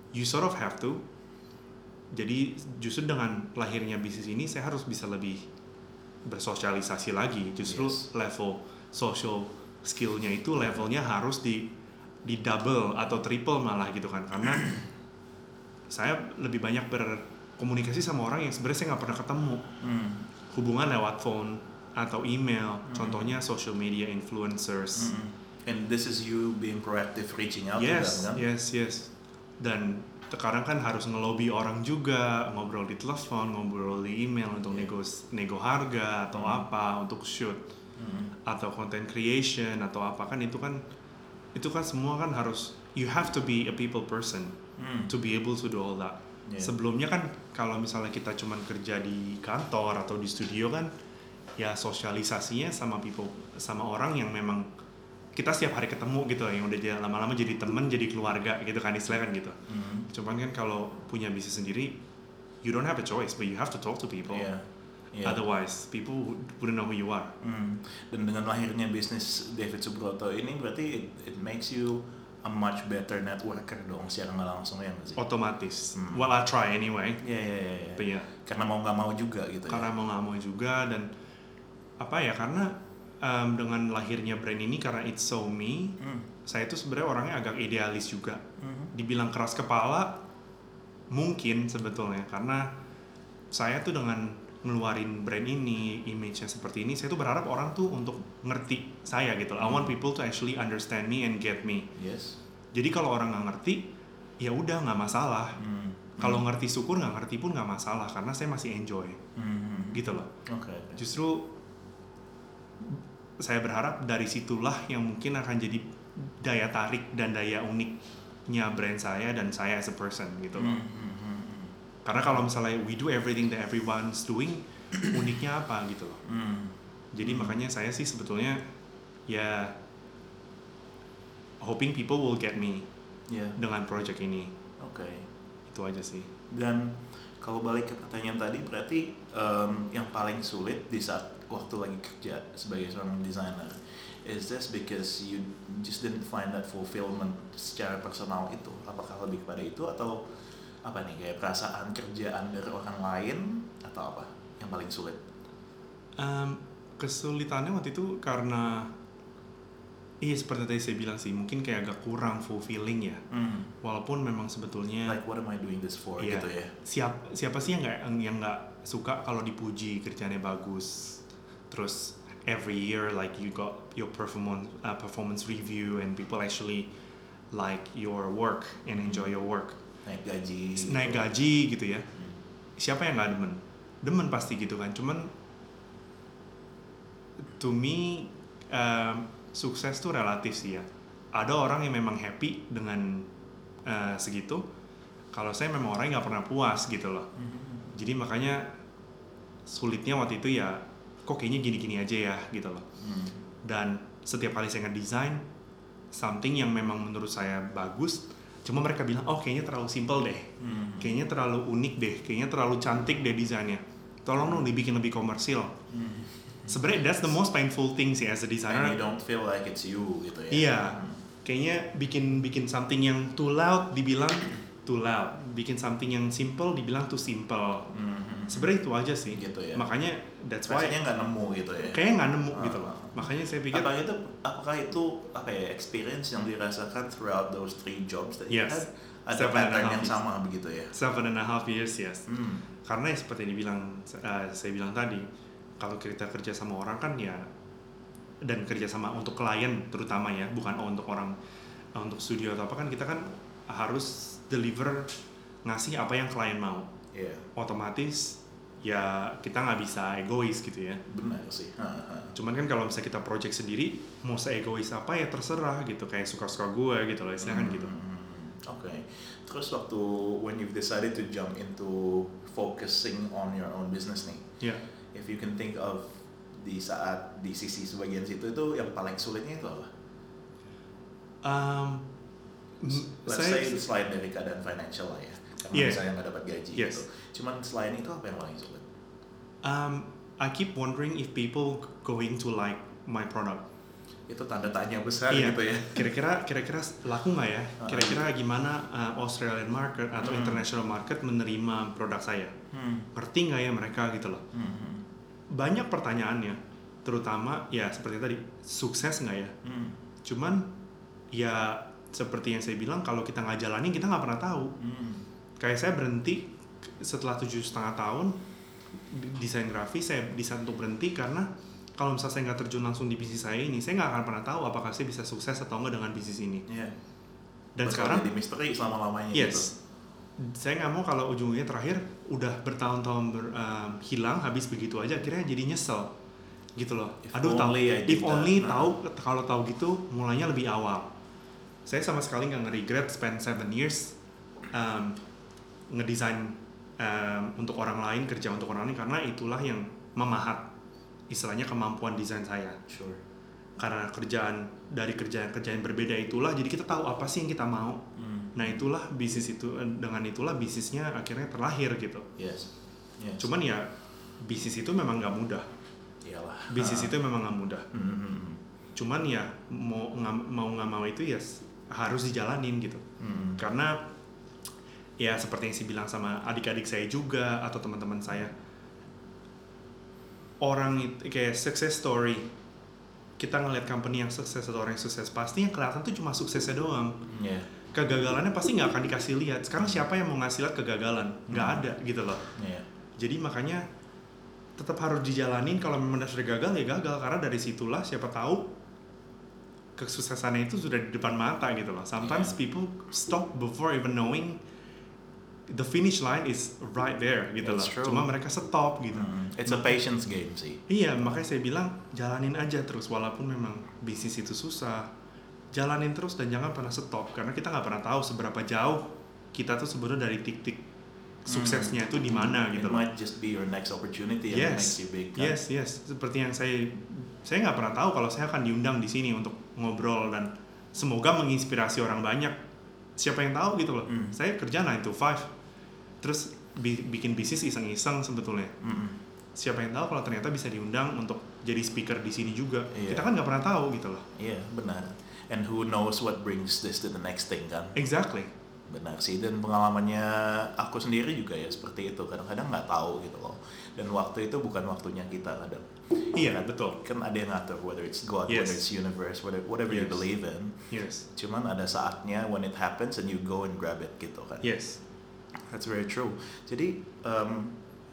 you sort of have to. Jadi justru dengan lahirnya bisnis ini saya harus bisa lebih bersosialisasi lagi. Justru Yes. level social skillnya itu levelnya harus di di double atau triple malah gitu kan, karena saya lebih banyak berkomunikasi sama orang yang sebenarnya saya nggak pernah ketemu. Hmm. Hubungan lewat phone atau email, Hmm. contohnya social media influencers. Hmm. And this is you being proactive, reaching out Yes, to them, kan? yes, yes. Dan sekarang kan harus ngelobi orang juga, ngobrol di telepon, ngobrol di email untuk Yeah. nego nego harga atau Hmm. apa untuk shoot Hmm. atau content creation atau apa, kan itu kan itu kan semua kan harus, you have to be a people person Hmm. to be able to do all that. Yeah. Sebelumnya kan kalau misalnya kita cuman kerja di kantor atau di studio kan ya sosialisasinya sama people, sama orang yang memang kita setiap hari ketemu gitu, yang udah jadi- lama-lama jadi temen, jadi keluarga gitu kan istilahnya kan gitu. Hmm. Cuman kan kalau punya bisnis sendiri, you don't have a choice, but you have to talk to people. Yeah. Yeah. Otherwise, people wouldn't know who you are. Hmm. Dan dengan lahirnya bisnis David Subroto ini berarti it, it makes you a much better networker dong secara nggak langsung, ya nggak sih? Otomatis. Hmm. Well, I try anyway. Iya, iya, iya, iya. But yeah, Karena mau nggak mau juga gitu karena ya. mau nggak mau juga, dan apa ya, karena um, dengan lahirnya brand ini, karena it's so me, Hmm. saya tuh sebenarnya orangnya agak idealis juga. Hmm. Dibilang keras kepala, mungkin sebetulnya, karena saya tuh dengan ngeluarin brand ini, image-nya seperti ini, saya tuh berharap orang tuh untuk ngerti saya gitu. I want people to actually understand me and get me. Yes. Jadi kalau orang nggak ngerti, ya udah nggak masalah. Hmm. Kalau ngerti syukur, nggak ngerti pun nggak masalah, karena saya masih enjoy Hmm. gitu loh. Oke. oke. Justru saya berharap dari situlah yang mungkin akan jadi daya tarik dan daya uniknya brand saya dan saya as a person gitu loh. Hmm, hmm, hmm, hmm. Karena kalau misalnya we do everything that everyone's doing, uniknya apa gitu loh. Hmm. Jadi makanya saya sih sebetulnya ya hoping people will get me Ya. dengan project ini. Oke. Itu aja sih. Dan kalau balik ke pertanyaan tadi, berarti em, yang paling sulit di saat waktu lagi kerja sebagai seorang desainer, is this because you just didn't find that fulfillment secara personal itu? Apakah lebih kepada itu, atau apa nih, kayak perasaan kerjaan dari orang lain, atau apa yang paling sulit? Um, kesulitannya waktu itu karena iya seperti tadi saya bilang sih, mungkin kayak agak kurang fulfilling ya. Hmm. Walaupun memang sebetulnya Like what am I doing this for, iya, gitu ya? siap, siapa sih yang nggak yang nggak suka kalau dipuji kerjanya bagus, terus every year like you got your performance uh, performance review and people actually like your work and enjoy your work, Naik gaji. naik gaji gitu ya. Hmm. Siapa yang nggak demen? Demen pasti gitu kan. Cuman to me um, sukses tuh relatif sih ya. Ada orang yang memang happy dengan uh, segitu. Kalau saya memang orang yang nggak pernah puas gitu loh. Hmm. Jadi makanya sulitnya waktu itu ya, kok kayaknya gini-gini aja ya gitu loh. Hmm. Dan setiap kali saya ngedesain something yang memang menurut saya bagus, cuma mereka bilang, oh kayaknya terlalu simple deh, Hmm. kayaknya terlalu unik deh, kayaknya terlalu cantik deh desainnya, tolong dong dibikin lebih komersil. Hmm. Sebenarnya that's the most painful thing sih as a And designer. you don't feel like it's you gitu ya? Iya, Hmm. kayaknya bikin bikin something yang too loud dibilang too loud, bikin something yang simple dibilang too simple. Hmm. Sebenarnya itu aja sih. Gitu ya. Makanya that's why Rasanya nggak nemu gitu ya? kayaknya nggak nemu Ah. gitu loh. Makanya saya pikir Apakah itu, apakah itu apa ya, experience yang dirasakan throughout those three jobs that you Yes. had? Ada Seven and a pattern half yang years. sama begitu ya? seven and a half years yes. Hmm. Karena ya seperti yang dibilang uh, saya bilang tadi, kalau kita kerja sama orang kan ya, dan kerja sama untuk klien terutama ya, bukan untuk orang uh, untuk studio atau apa, kan kita kan harus deliver, ngasih apa yang klien mau. Iya, Otomatis ya kita nggak bisa egois gitu ya. benar sih. Ha, ha. Cuman kan kalau misalnya kita project sendiri, mau se-egois apa ya terserah gitu, kayak suka-suka gue gitu loh, istilahnya kan gitu. Hmm. Oke. Terus waktu when you've decided to jump into focusing on your own business nih, Ya, if you can think of di saat di sisi sebagian situ itu yang paling sulitnya itu apa? um, m- Let's saya say selain dari keadaan financial lah ya, karena Yeah. misalnya nggak dapat gaji Yes. gitu. Cuman selain itu apa yang paling sulit? um, I keep wondering if people going to like my product. itu tanda tanya besar iya. gitu ya. Kira-kira kira-kira laku nggak ya? Kira-kira gimana uh, Australian market atau hmm. international market menerima produk saya? Hmm. Ngerti nggak ya mereka gitu loh? Hmm. Banyak pertanyaannya, terutama ya seperti tadi, sukses nggak ya? Hmm. Cuman ya seperti yang saya bilang, kalau kita nggak jalanin kita nggak pernah tahu. Hmm. Kayak saya berhenti setelah tujuh setengah tahun desain grafis, saya desain untuk berhenti karena kalau misalnya saya nggak terjun langsung di bisnis saya ini, saya nggak akan pernah tahu apakah saya bisa sukses atau enggak dengan bisnis ini. Yeah. Dan Betul, sekarang jadi misteri selama-lamanya yes, gitu. Saya nggak mau kalau ujungnya terakhir udah bertahun-tahun ber, um, hilang, habis begitu aja, akhirnya jadi nyesel gitu loh. If Aduh, tahu, if only nah. tahu kalau tahu gitu mulainya lebih awal. Saya sama sekali nggak nge-regret spend seven years um, ngedesain um, untuk orang lain, kerja untuk orang lain, karena itulah yang memahat istilahnya kemampuan desain saya. Sure. Karena kerjaan dari kerjaan-kerjaan berbeda itulah, jadi kita tahu apa sih yang kita mau. Hmm. Nah itulah bisnis itu, dengan itulah bisnisnya akhirnya terlahir gitu. Yes. Yes. Cuman ya bisnis itu memang nggak mudah. Iyalah. Bisnis uh. itu memang nggak mudah. Mm-hmm. Cuman ya mau nggak mau nggak mau itu ya harus dijalanin gitu. Mm-hmm. Karena ya seperti yang saya bilang sama adik-adik saya juga atau teman-teman saya. Orang itu kayak success story, kita ngeliat company yang sukses atau orang yang sukses, pasti yang kelihatan tuh cuma suksesnya doang. Yeah. Kegagalannya pasti nggak akan dikasih lihat. Sekarang siapa yang mau ngasih lihat kegagalan? Nggak hmm. ada gitu loh. Yeah. Jadi makanya tetap harus dijalanin. Kalau memang sudah gagal ya gagal, karena dari situlah siapa tahu kesuksesannya itu sudah di depan mata gitu loh. Sometimes yeah. people stop before even knowing the finish line is right there gitu loh. Cuma mereka stop gitu. Hmm. It's a patience game sih. Iya, makanya saya bilang jalanin aja terus walaupun memang bisnis itu susah. Jalanin terus dan jangan pernah stop karena kita nggak pernah tahu seberapa jauh kita tuh sebenarnya dari titik suksesnya itu di mana gitu. It might just be your next opportunity yes. yang makes you big. Kan? Yes, yes. Seperti yang saya saya nggak pernah tahu kalau saya akan diundang di sini untuk ngobrol dan semoga menginspirasi orang banyak. Siapa yang tahu gitu loh. Mm. Saya kerja nine to five. Terus bi- bikin bisnis iseng-iseng sebetulnya. Mm-hmm. Siapa yang tahu kalau ternyata bisa diundang untuk jadi speaker di sini juga. Yeah. Kita kan nggak pernah tahu gitu loh. Iya, yeah, benar. And who knows what brings this to the next thing kan? Exactly. Benar sih, dan pengalamannya aku sendiri juga ya seperti itu. Kadang-kadang nggak tahu gitu loh. Dan waktu itu bukan waktunya kita kadang. Iya, kan, betul. Kan ada yang ngatur, whether it's God, yes. whether it's universe, whatever, whatever yes. you believe in. Yes. Cuman ada saatnya when it happens and you go and grab it gitu kan. Yes. That's very true. Jadi um,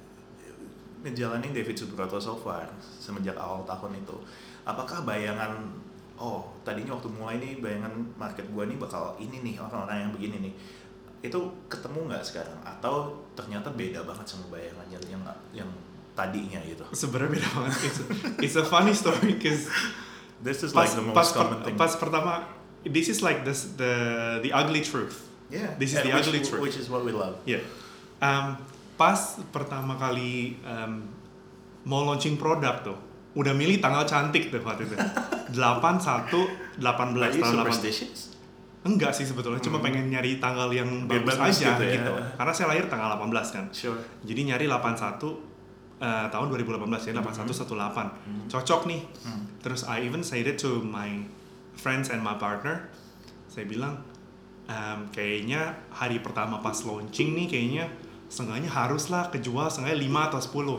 ngejalanin David Subroto so far semenjak awal tahun itu, apakah bayangan, oh tadinya waktu mulai nih bayangan market gua nih bakal ini nih, orang-orang yang begini nih, itu ketemu nggak sekarang? Atau ternyata beda banget sama bayangan yang yang, yang tadinya gitu? Sebenarnya beda banget. It's a, it's a funny story because this is pas, like the most pas common per, thing. Pas pertama, this is like this, the the ugly truth. Yeah, this is and the which, ugly truth. Which is what we love. Yeah. Um, pas pertama kali um, mau launching produk tuh, udah milih tanggal cantik tuh waktu itu. delapan satu delapan belas tanggal delapan. Superstitious? Enggak sih sebetulnya, hmm. cuma pengen nyari tanggal yang biar bagus aja gitu, ya. gitu. Karena saya lahir tanggal delapan belas kan. Sure. Jadi nyari delapan satu uh, tahun dua ribu delapan belas ya, delapan satu delapan belas. Hmm. Cocok nih. Hmm. Terus I even said it to my friends and my partner. Saya bilang Um, kayaknya hari pertama pas launching nih kayaknya setengahnya haruslah kejual setengahnya lima atau sepuluh.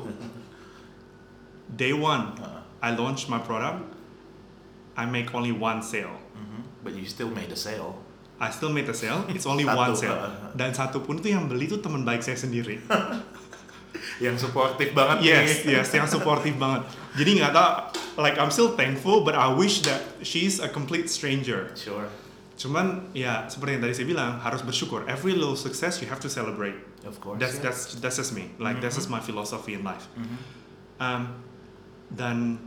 Day one, uh, I launch my product, I make only one sale. Mm-hmm. But you still made a sale. I still made a sale, it's only satu, one sale. Uh, Dan satu pun itu yang beli itu teman baik saya sendiri. Yang supportive banget. Yes, nih. yes, yang supportive banget. Jadi nggak tahu, like I'm still thankful, but I wish that she's a complete stranger. Sure. Cuman ya seperti yang tadi saya bilang harus bersyukur. Every little success you have to celebrate. Of course. That's yeah. that's that's just me. Like mm-hmm. that's just my philosophy in life. Mm-hmm. Um, dan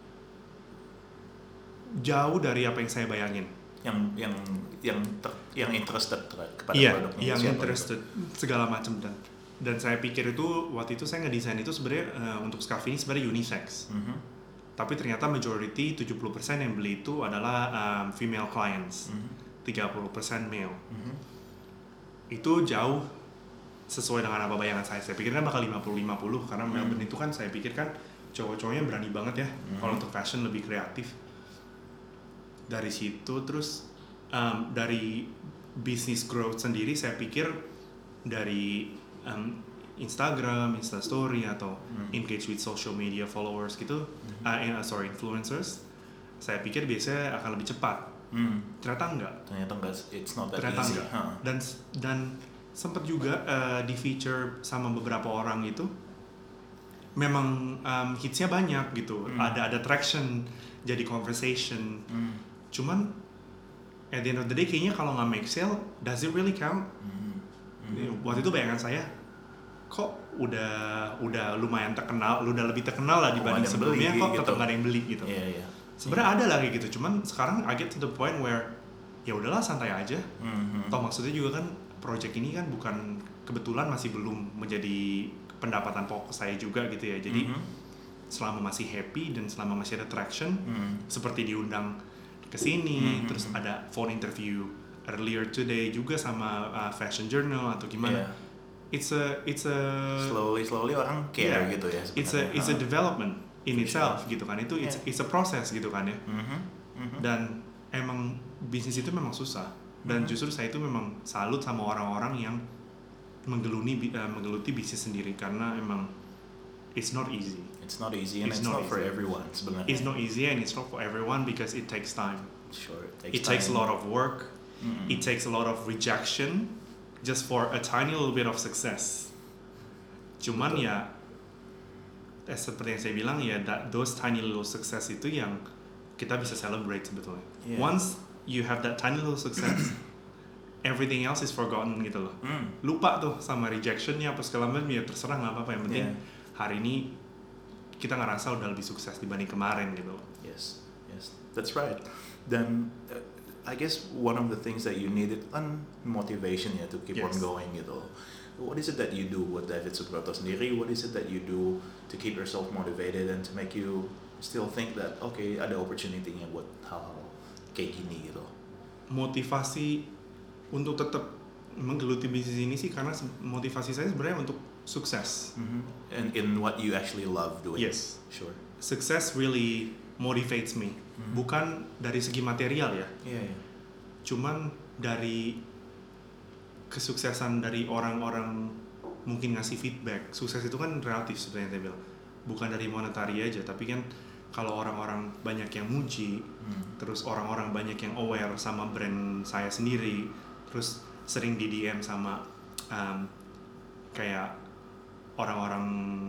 jauh dari apa yang saya bayangin. Yang yang yang ter, yang interested kepada yeah, produknya. Yang interested itu? Segala macam dan dan saya pikir itu waktu itu saya ngedesain itu sebenarnya uh, untuk scarf ini sebenarnya unisex. Mm-hmm. Tapi ternyata majority tujuh puluh persen yang beli itu adalah um, female clients. Mm-hmm. tiga puluh persen male. Mm-hmm. Itu jauh sesuai dengan apa bayangan saya. Saya pikir kan bakal lima puluh lima puluh karena mm-hmm. Melbourne itu kan saya pikir kan cowok-cowoknya berani banget ya. Mm-hmm. Kalau untuk fashion lebih kreatif. dari situ terus um, dari business growth sendiri saya pikir dari um, Instagram, Instastory atau Hmm. engage with social media followers gitu, Hmm. uh, eh, sorry influencers, saya pikir biasanya akan lebih cepat. Hmm. Ternyata enggak. Ternyata enggak, it's not that Ternyata easy. enggak. Huh. Dan dan sempat juga uh, di feature sama beberapa orang itu, memang um, hitsnya banyak gitu, Hmm. ada ada traction, jadi conversation. Hmm. Cuman at the end of the day kayaknya kalau nggak make sale, does it really count? Hmm. Hmm. Waktu itu bayangan saya, kok udah udah lumayan terkenal, lu udah lebih terkenal lah dibanding Kok ada yang sebelumnya, beli kok gitu. tetap nggak ada yang beli gitu. Iya, iya. Sebenarnya ada lah kayak gitu, cuman sekarang I get to the point where ya udahlah santai aja. Hmm. Toh maksudnya juga kan project ini kan bukan kebetulan masih belum menjadi pendapatan pokok saya juga gitu ya. Jadi Mhm. selama masih happy dan selama masih ada traction, Hmm. seperti diundang ke sini, Mhm. terus ada phone interview earlier today juga sama uh, fashion journal atau gimana. Iya. It's a it's a Slowly slowly orang care Yeah. gitu ya it's a sebenarnya. it's a Huh. development in For itself gitu kan. Itu it's Yeah. it's a process gitu kan ya. Mhm. Mhm. Dan emang bisnis itu memang susah. Dan Mhm. justru saya itu memang salut sama orang-orang yang menggeluni bi- uh, menggeluti bisnis sendiri karena emang it's not easy. It's not easy and It's it's, not not, for easy. everyone sebenarnya. It's not easy and it's not for everyone because it takes time. Sure, it takes It takes a time. lot of work. Mm-mm. It takes a lot of rejection just for a tiny little bit of success. Cuman Betul. ya, eh, seperti yang saya bilang ya, that those tiny little success itu yang kita bisa celebrate sebetulnya. Yeah. Once you have that tiny little success, everything else is forgotten gitu loh. Mm. Lupa tuh sama rejectionnya apa segala macam ya terserah nggak apa-apa yang penting Yeah. hari ini kita ngerasa udah lebih sukses dibanding kemarin gitu loh. Yes, yes, that's right. Then uh, I guess one of the things that you needed kan motivation ya to keep on Yes. going gitu. What is it that you do buat David Subroto sendiri? What is it that you do to keep yourself motivated and to make you still think that okay ada opportunity-nya buat hal-hal kayak gini gitu? Motivasi untuk tetap menggeluti bisnis ini sih karena se- motivasi saya sebenarnya untuk sukses. Mhm. And in what you actually love doing. Yes. Sure. Success really motivates me. Mhm. Bukan dari segi material ya, Iya, iya. cuman dari kesuksesan dari orang-orang mungkin ngasih feedback. Sukses itu kan relatif sebenarnya saya bilang. Bukan dari monetary aja, tapi kan kalau orang-orang banyak yang muji, Hmm. terus orang-orang banyak yang aware sama brand saya sendiri, terus sering di D M sama um, kayak orang-orang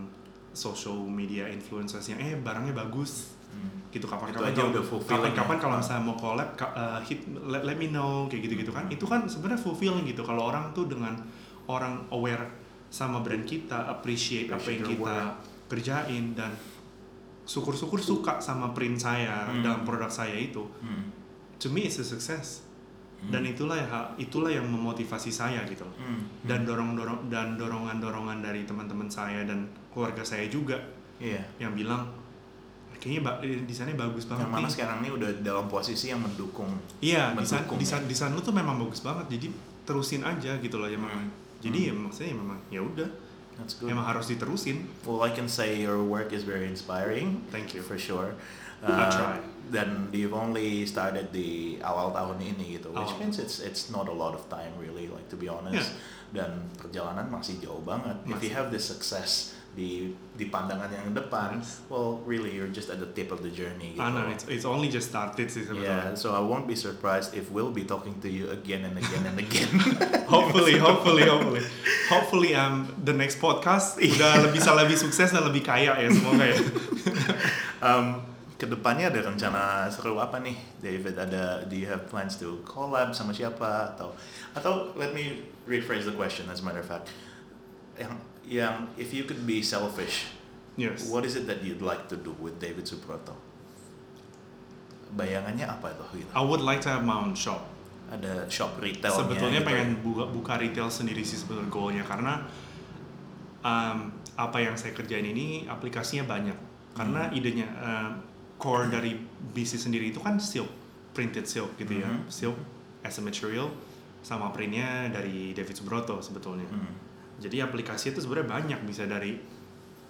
social media influencers yang eh barangnya bagus Hmm. gitu, Itu kapan-kapan aja udah fulfilling kapan-kapan ya. kalau misalnya mau collab ka- uh, hit let, let me know kayak gitu-gitu kan, itu kan sebenarnya fulfilling gitu kalau orang tuh dengan orang aware sama brand kita, appreciate, apa Appreciate yang your kita kerjain dan syukur-syukur suka sama print saya Hmm. dalam produk saya itu, Hmm. to me it's a success. Hmm. Dan itulah ya itulah yang memotivasi saya gitu. Hmm. Dan dorong-dorong dan dorongan-dorongan dari teman-teman saya dan keluarga saya juga Iya. yang bilang kayaknya ba- eh, desainnya bagus banget Yang mana nih. sekarang ini udah dalam posisi yang mendukung. Iya, desain mendukung desain ya. desain lu tuh memang bagus banget. Jadi terusin aja gitu loh ya memang. Hmm. Jadi Hmm. ya maksudnya ya memang ya udah, That's good. memang harus diterusin. Well, I can say your work is very inspiring. Thank you. For sure. I try. Dan you've only started di awal tahun ini gitu, which Awal. means it's it's not a lot of time really, like to be honest. Dan perjalanan masih jauh banget. If you Masih. have this success di di pandangan yang depan, Yes. well, really you're just at the tip of the journey. Gitu. Ah, no, it's it's only just started sih Yeah, sebetulnya. so I won't be surprised if we'll be talking to you again and again and again. Hopefully, hopefully, hopefully, hopefully, um, the next podcast udah lebih bisa lebih sukses dan lebih kaya ya semoga ya. um, Kedepannya ada rencana seru apa nih, David? Ada, do you have plans to collab sama siapa atau atau let me rephrase the question as a matter of fact. Yang yang if you could be selfish, Yes. what is it that you'd like to do with David Subroto? Bayangannya apa tuh gitu? I would like to have my own shop. Ada shop retail. Sebetulnya gitu. pengen buka, buka retail sendiri sih sebetulnya goalnya karena um, apa yang saya kerjain ini aplikasinya banyak. Karena Hmm. idenya um, core dari bisnis sendiri itu kan silk, printed silk gitu ya, Mhm. silk as a material sama printnya dari David Subroto sebetulnya. Hmm. Jadi aplikasi itu sebenarnya banyak, bisa dari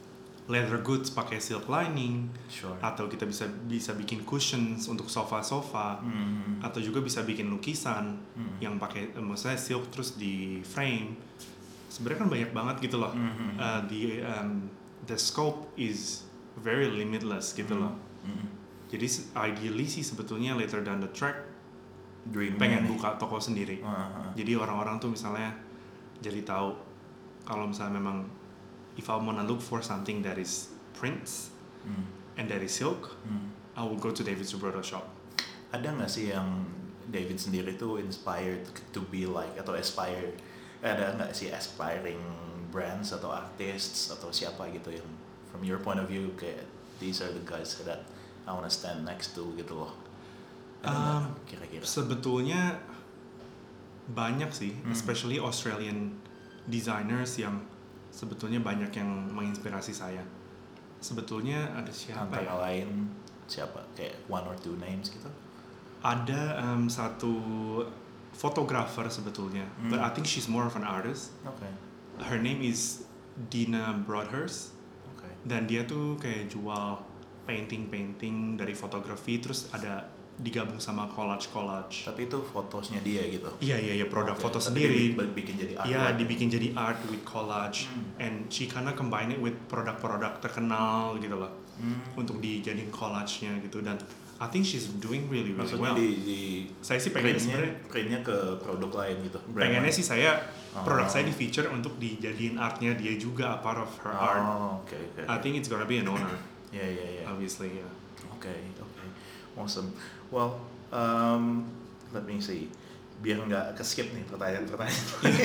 leather goods pakai silk lining, Sure. atau kita bisa bisa bikin cushions untuk sofa-sofa, Hmm. atau juga bisa bikin lukisan Hmm. yang pakai eh, maksudnya silk terus di frame. Sebenarnya kan banyak banget gitu loh. Hmm. Uh, the um, the scope is very limitless gitu Hmm. loh. Hmm. Jadi se- ideally sih sebetulnya later down the track Dream pengen nih. buka toko sendiri. Uh-huh. Jadi orang-orang tuh misalnya jadi tahu kalau misalnya memang if I wanna look for something that is prints Hmm. and that is silk, Hmm. I will go to David Subroto shop. Ada nggak sih yang David sendiri tuh inspired to be like atau aspire? Ada nggak sih aspiring brands atau artists atau siapa gitu yang from your point of view kayak these are the guys that I wanna stand next to gitu loh? Ada nggak Um, kira-kira? Sebetulnya banyak sih, Hmm. especially Australian designers yang sebetulnya banyak yang menginspirasi saya. Sebetulnya ada siapa Antara ya? lain siapa? Kayak one or two names gitu? Ada um, satu fotografer sebetulnya, Hmm. but I think she's more of an artist. Oke. Her name is Dina Broadhurst, Oke. dan dia tuh kayak jual painting-painting dari fotografi, terus ada digabung sama collage-collage. Tapi itu fotosnya dia gitu. Iya iya iya, produk Oke, foto tapi sendiri. dibi- bikin jadi art. Iya, dibikin jadi art with collage, Hmm. and she kinda combine it with produk-produk terkenal gitu loh, Hmm. untuk dijadiin collage-nya gitu. Dan I think she's doing really really Maksudnya well. di, di Saya sih pengen printnya, sebenarnya, printnya ke produk lain gitu. brand pengennya lain. sih saya Oh. produk saya di feature untuk dijadiin artnya dia juga, a part of her art. Oh, oke oke. I think it's gonna be an honor, Ya ya ya. obviously. Yeah. Oke oke. Awesome. Well, um, let me see. Biar nggak ke skip nih pertanyaan-pertanyaan.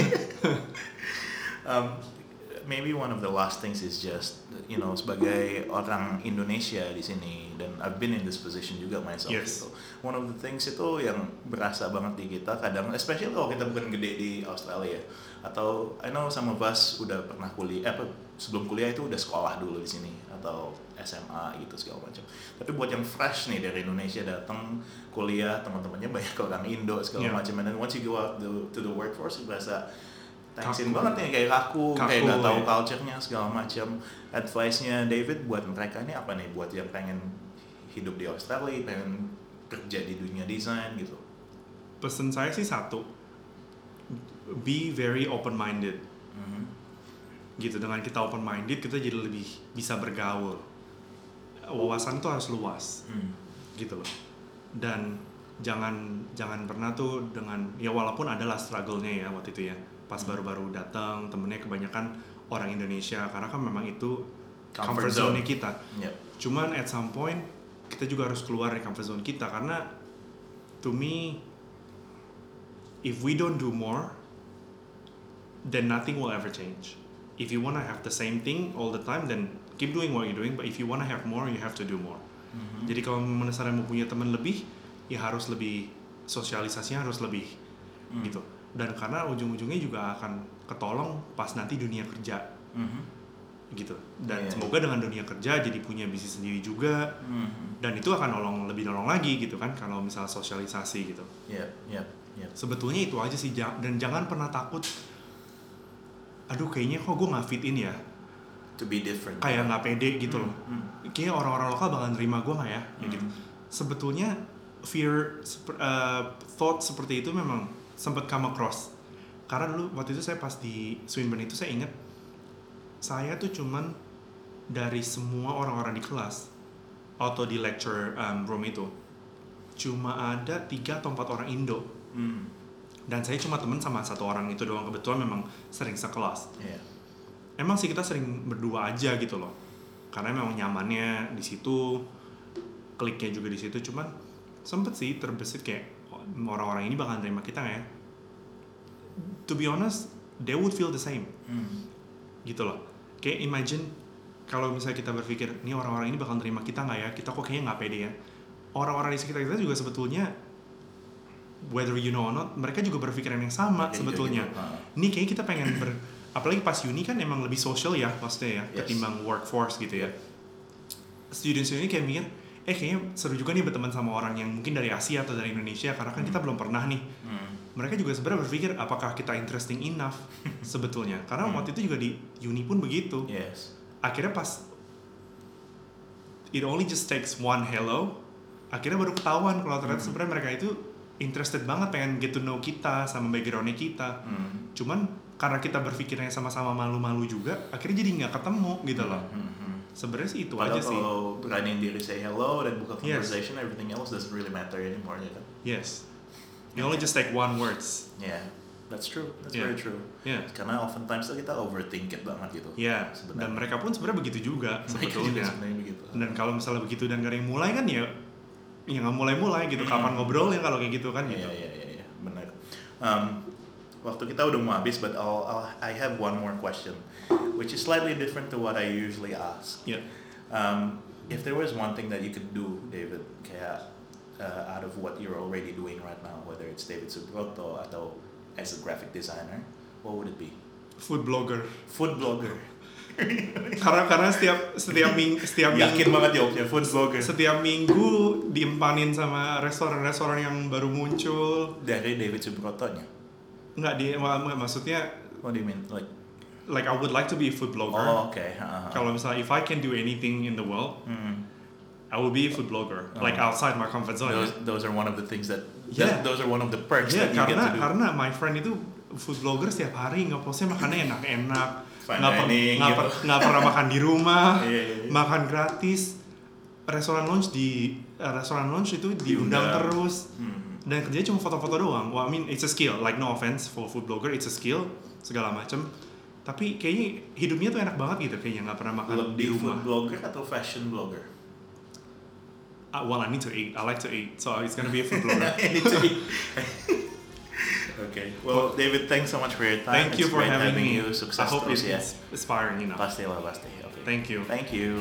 um, maybe one of the last things is just you know sebagai orang Indonesia di sini dan I've been in this position juga myself Yes. gitu. One of the things itu yang berasa banget di kita kadang, especially kalau kita bukan gede di Australia atau I know some of us udah pernah kuliah, eh, apa sebelum kuliah itu udah sekolah dulu di sini atau S M A gitu segala macam. Tapi buat yang fresh nih dari Indonesia datang kuliah, teman-temannya banyak orang Indo segala Yeah. macam, and then once you go out to, to the workforce berasa tensin Kaku. banget nih, kayak kaku, Kaku, kayak nggak tahu ya. culture-nya segala macam. Advice-nya David buat mereka ini apa nih, buat yang pengen hidup di Australia, pengen kerja di dunia desain gitu? Pesan saya sih satu, be very open-minded. Mhm. Gitu, dengan kita open-minded kita jadi lebih bisa bergaul. Wawasan tuh harus luas. Hmm. Gitu loh. Dan jangan jangan pernah tuh dengan, ya walaupun adalah struggle-nya ya waktu itu ya, pas baru-baru datang temennya kebanyakan orang Indonesia, karena kan memang itu Comfort comfort, zone. zone kita. Yep. Cuman at some point kita juga harus keluar dari comfort zone kita, karena to me if we don't do more then nothing will ever change. If you wanna have the same thing all the time, then keep doing what you're doing, but if you wanna have more, you have to do more. Mhm. Jadi kalau misalnya mau punya teman lebih, ya harus lebih, sosialisasinya harus lebih, Hmm. gitu. Dan karena ujung-ujungnya juga akan ketolong pas nanti dunia kerja, Mhm. gitu. Dan Iya. semoga dengan dunia kerja jadi punya bisnis sendiri juga, Mhm. dan itu akan nolong, lebih nolong lagi gitu kan, kalau misal sosialisasi gitu. Yep, yep, yep. Sebetulnya itu aja sih, ja- dan jangan pernah takut, aduh kayaknya kok gue nggak fit in ya, To be different. kayak nggak pede gitu loh. Hmm. Kayaknya orang-orang lokal bakal nerima gue nggak ya, kayak gitu. Hmm. Sebetulnya fear, sep- uh, thought seperti itu memang sempat come across. Karena dulu waktu itu saya pas di Swinburne itu saya ingat, saya tuh cuman dari semua orang-orang di kelas atau di lecture um, room itu cuma ada tiga atau empat orang Indo, Hmm. dan saya cuma temen sama satu orang itu doang, kebetulan memang sering sekelas. Yeah. Emang sih kita sering berdua aja gitu loh, karena memang nyamannya di situ, kliknya juga di situ. Cuman sempet sih terbesit kayak, "Oh, orang-orang ini bakal terima kita nggak ya?" To be honest, they would feel the same, Hmm. gitu loh. Kayak imagine kalau misalnya kita berpikir, nih orang-orang ini bakal terima kita nggak ya? Kita kok kayaknya nggak pede ya. Orang-orang di sekitar kita juga sebetulnya, whether you know or not, mereka juga berpikiran yang sama Kayak sebetulnya. gitu. Ah. Ini kayak kita pengen ber, apalagi pas uni kan emang lebih social ya maksudnya ya, Yes. ketimbang workforce gitu ya. Student-student ini kayak mikir, eh kayaknya seru juga nih berteman sama orang yang mungkin dari Asia atau dari Indonesia, karena kan kita belum pernah nih. Hmm. Mereka juga sebenarnya berpikir apakah kita interesting enough sebetulnya, karena Hmm. waktu itu juga di uni pun begitu. Yes. Akhirnya pas it only just takes one hello, akhirnya baru ketahuan kalau ternyata hmm. sebenarnya mereka itu interested banget pengen get to know kita sama backgroundnya kita. Hmm. Cuman karena kita berpikirnya sama-sama malu-malu juga, akhirnya jadi nggak ketemu gitu loh. Hmm. Hmm. Sebenarnya sih itu Padahal aja sih. Kalau beraniin diri say hello dan buka conversation, yes. everything else doesn't really matter anymore, ya kan? Yes. You only just take one words. Yeah. That's true. That's yeah. very true. Yeah. Karena oftentimes kita overthink it banget gitu. Iya. Yeah. Dan mereka pun sebenarnya begitu juga sebetulnya. begitu. Dan kalau misalnya begitu dan gak ada yang mulai kan ya, ya nggak mulai-mulai gitu. Kapan ngobrol ya kalau kayak gitu kan? Gitu. Iya iya iya iya benar. Um, waktu kita udah mau habis, but I'll, I'll I have one more question, which is slightly different to what I usually ask. Yeah. Um, if there was one thing that you could do, David, kayak uh, out of what you're already doing right now, whether it's David Subroto atau as a graphic designer, what would it be? Food blogger. Food blogger. karena karena setiap setiap ming setiap yakin minggu, banget jawabnya food blogger. Setiap minggu diempanin sama restoran-restoran yang baru muncul. Dari David Subrotonya? Enggak, dia mak maksudnya. What do you mean? Like like I would like to be a food blogger. Oh, okay. Uh-huh. Kalau misalnya if I can do anything in the world, mm. I will be a food blogger. Uh-huh. Like outside my comfort zone. Those, those are one of the things that. Yeah. Those are one of the perks yeah, that you karena, get to do. Karena my friend itu food blogger setiap hari nge-postnya makannya enak-enak, nggak per, dining, per, gitu. pernah makan di rumah, yeah, yeah, yeah. makan gratis, restoran lunch di uh, restoran lunch itu diundang yeah. terus, hmm. dan kerjanya cuma foto-foto doang. Well, I mean it's a skill, like no offense for food blogger, it's a skill segala macam. Tapi kayaknya hidupnya tuh enak banget gitu, kayaknya nggak pernah makan Lebih di rumah. Food blogger atau fashion blogger? Uh, well, I need to eat. I like to eat, so it's gonna be a food blogger. I need to eat. Okay. Well, David, thanks so much for your time. Thank you it's for having, having me. you. Sukses I hope terus it's ya. inspiring, you know. Pasti lah, pasti. Okay. Thank you. Thank you.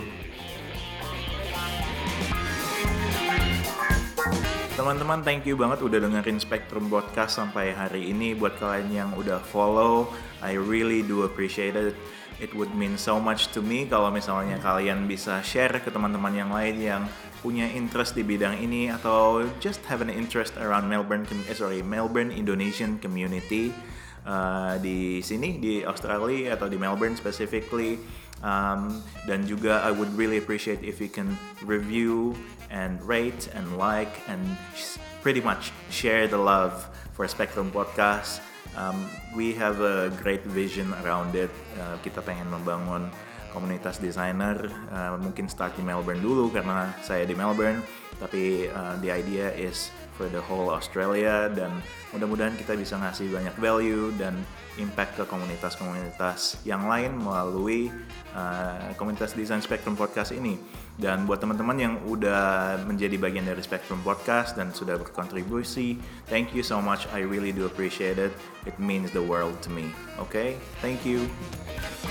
Teman-teman, thank you banget udah dengerin Spectrum Podcast sampai hari ini. Buat kalian yang udah follow, I really do appreciate it. It would mean so much to me kalau misalnya kalian bisa share ke teman-teman yang lain yang punya interest di bidang ini atau just have an interest around Melbourne, eh, sorry, Melbourne Indonesian community uh, di sini di Australia atau di Melbourne specifically. Um, dan juga I would really appreciate if you can review and rate and like and sh- pretty much share the love for Spectrum Podcast. Um, we have a great vision around it. Uh, kita pengen membangun komunitas desainer, uh, mungkin start di Melbourne dulu karena saya di Melbourne, tapi uh, the idea is for the whole Australia dan mudah-mudahan kita bisa ngasih banyak value dan impact ke komunitas-komunitas yang lain melalui uh, komunitas desain Spectrum Podcast ini. Dan buat teman-teman yang udah menjadi bagian dari Spectrum Podcast dan sudah berkontribusi, thank you so much. I really do appreciate it. It means the world to me. Okay? Thank you.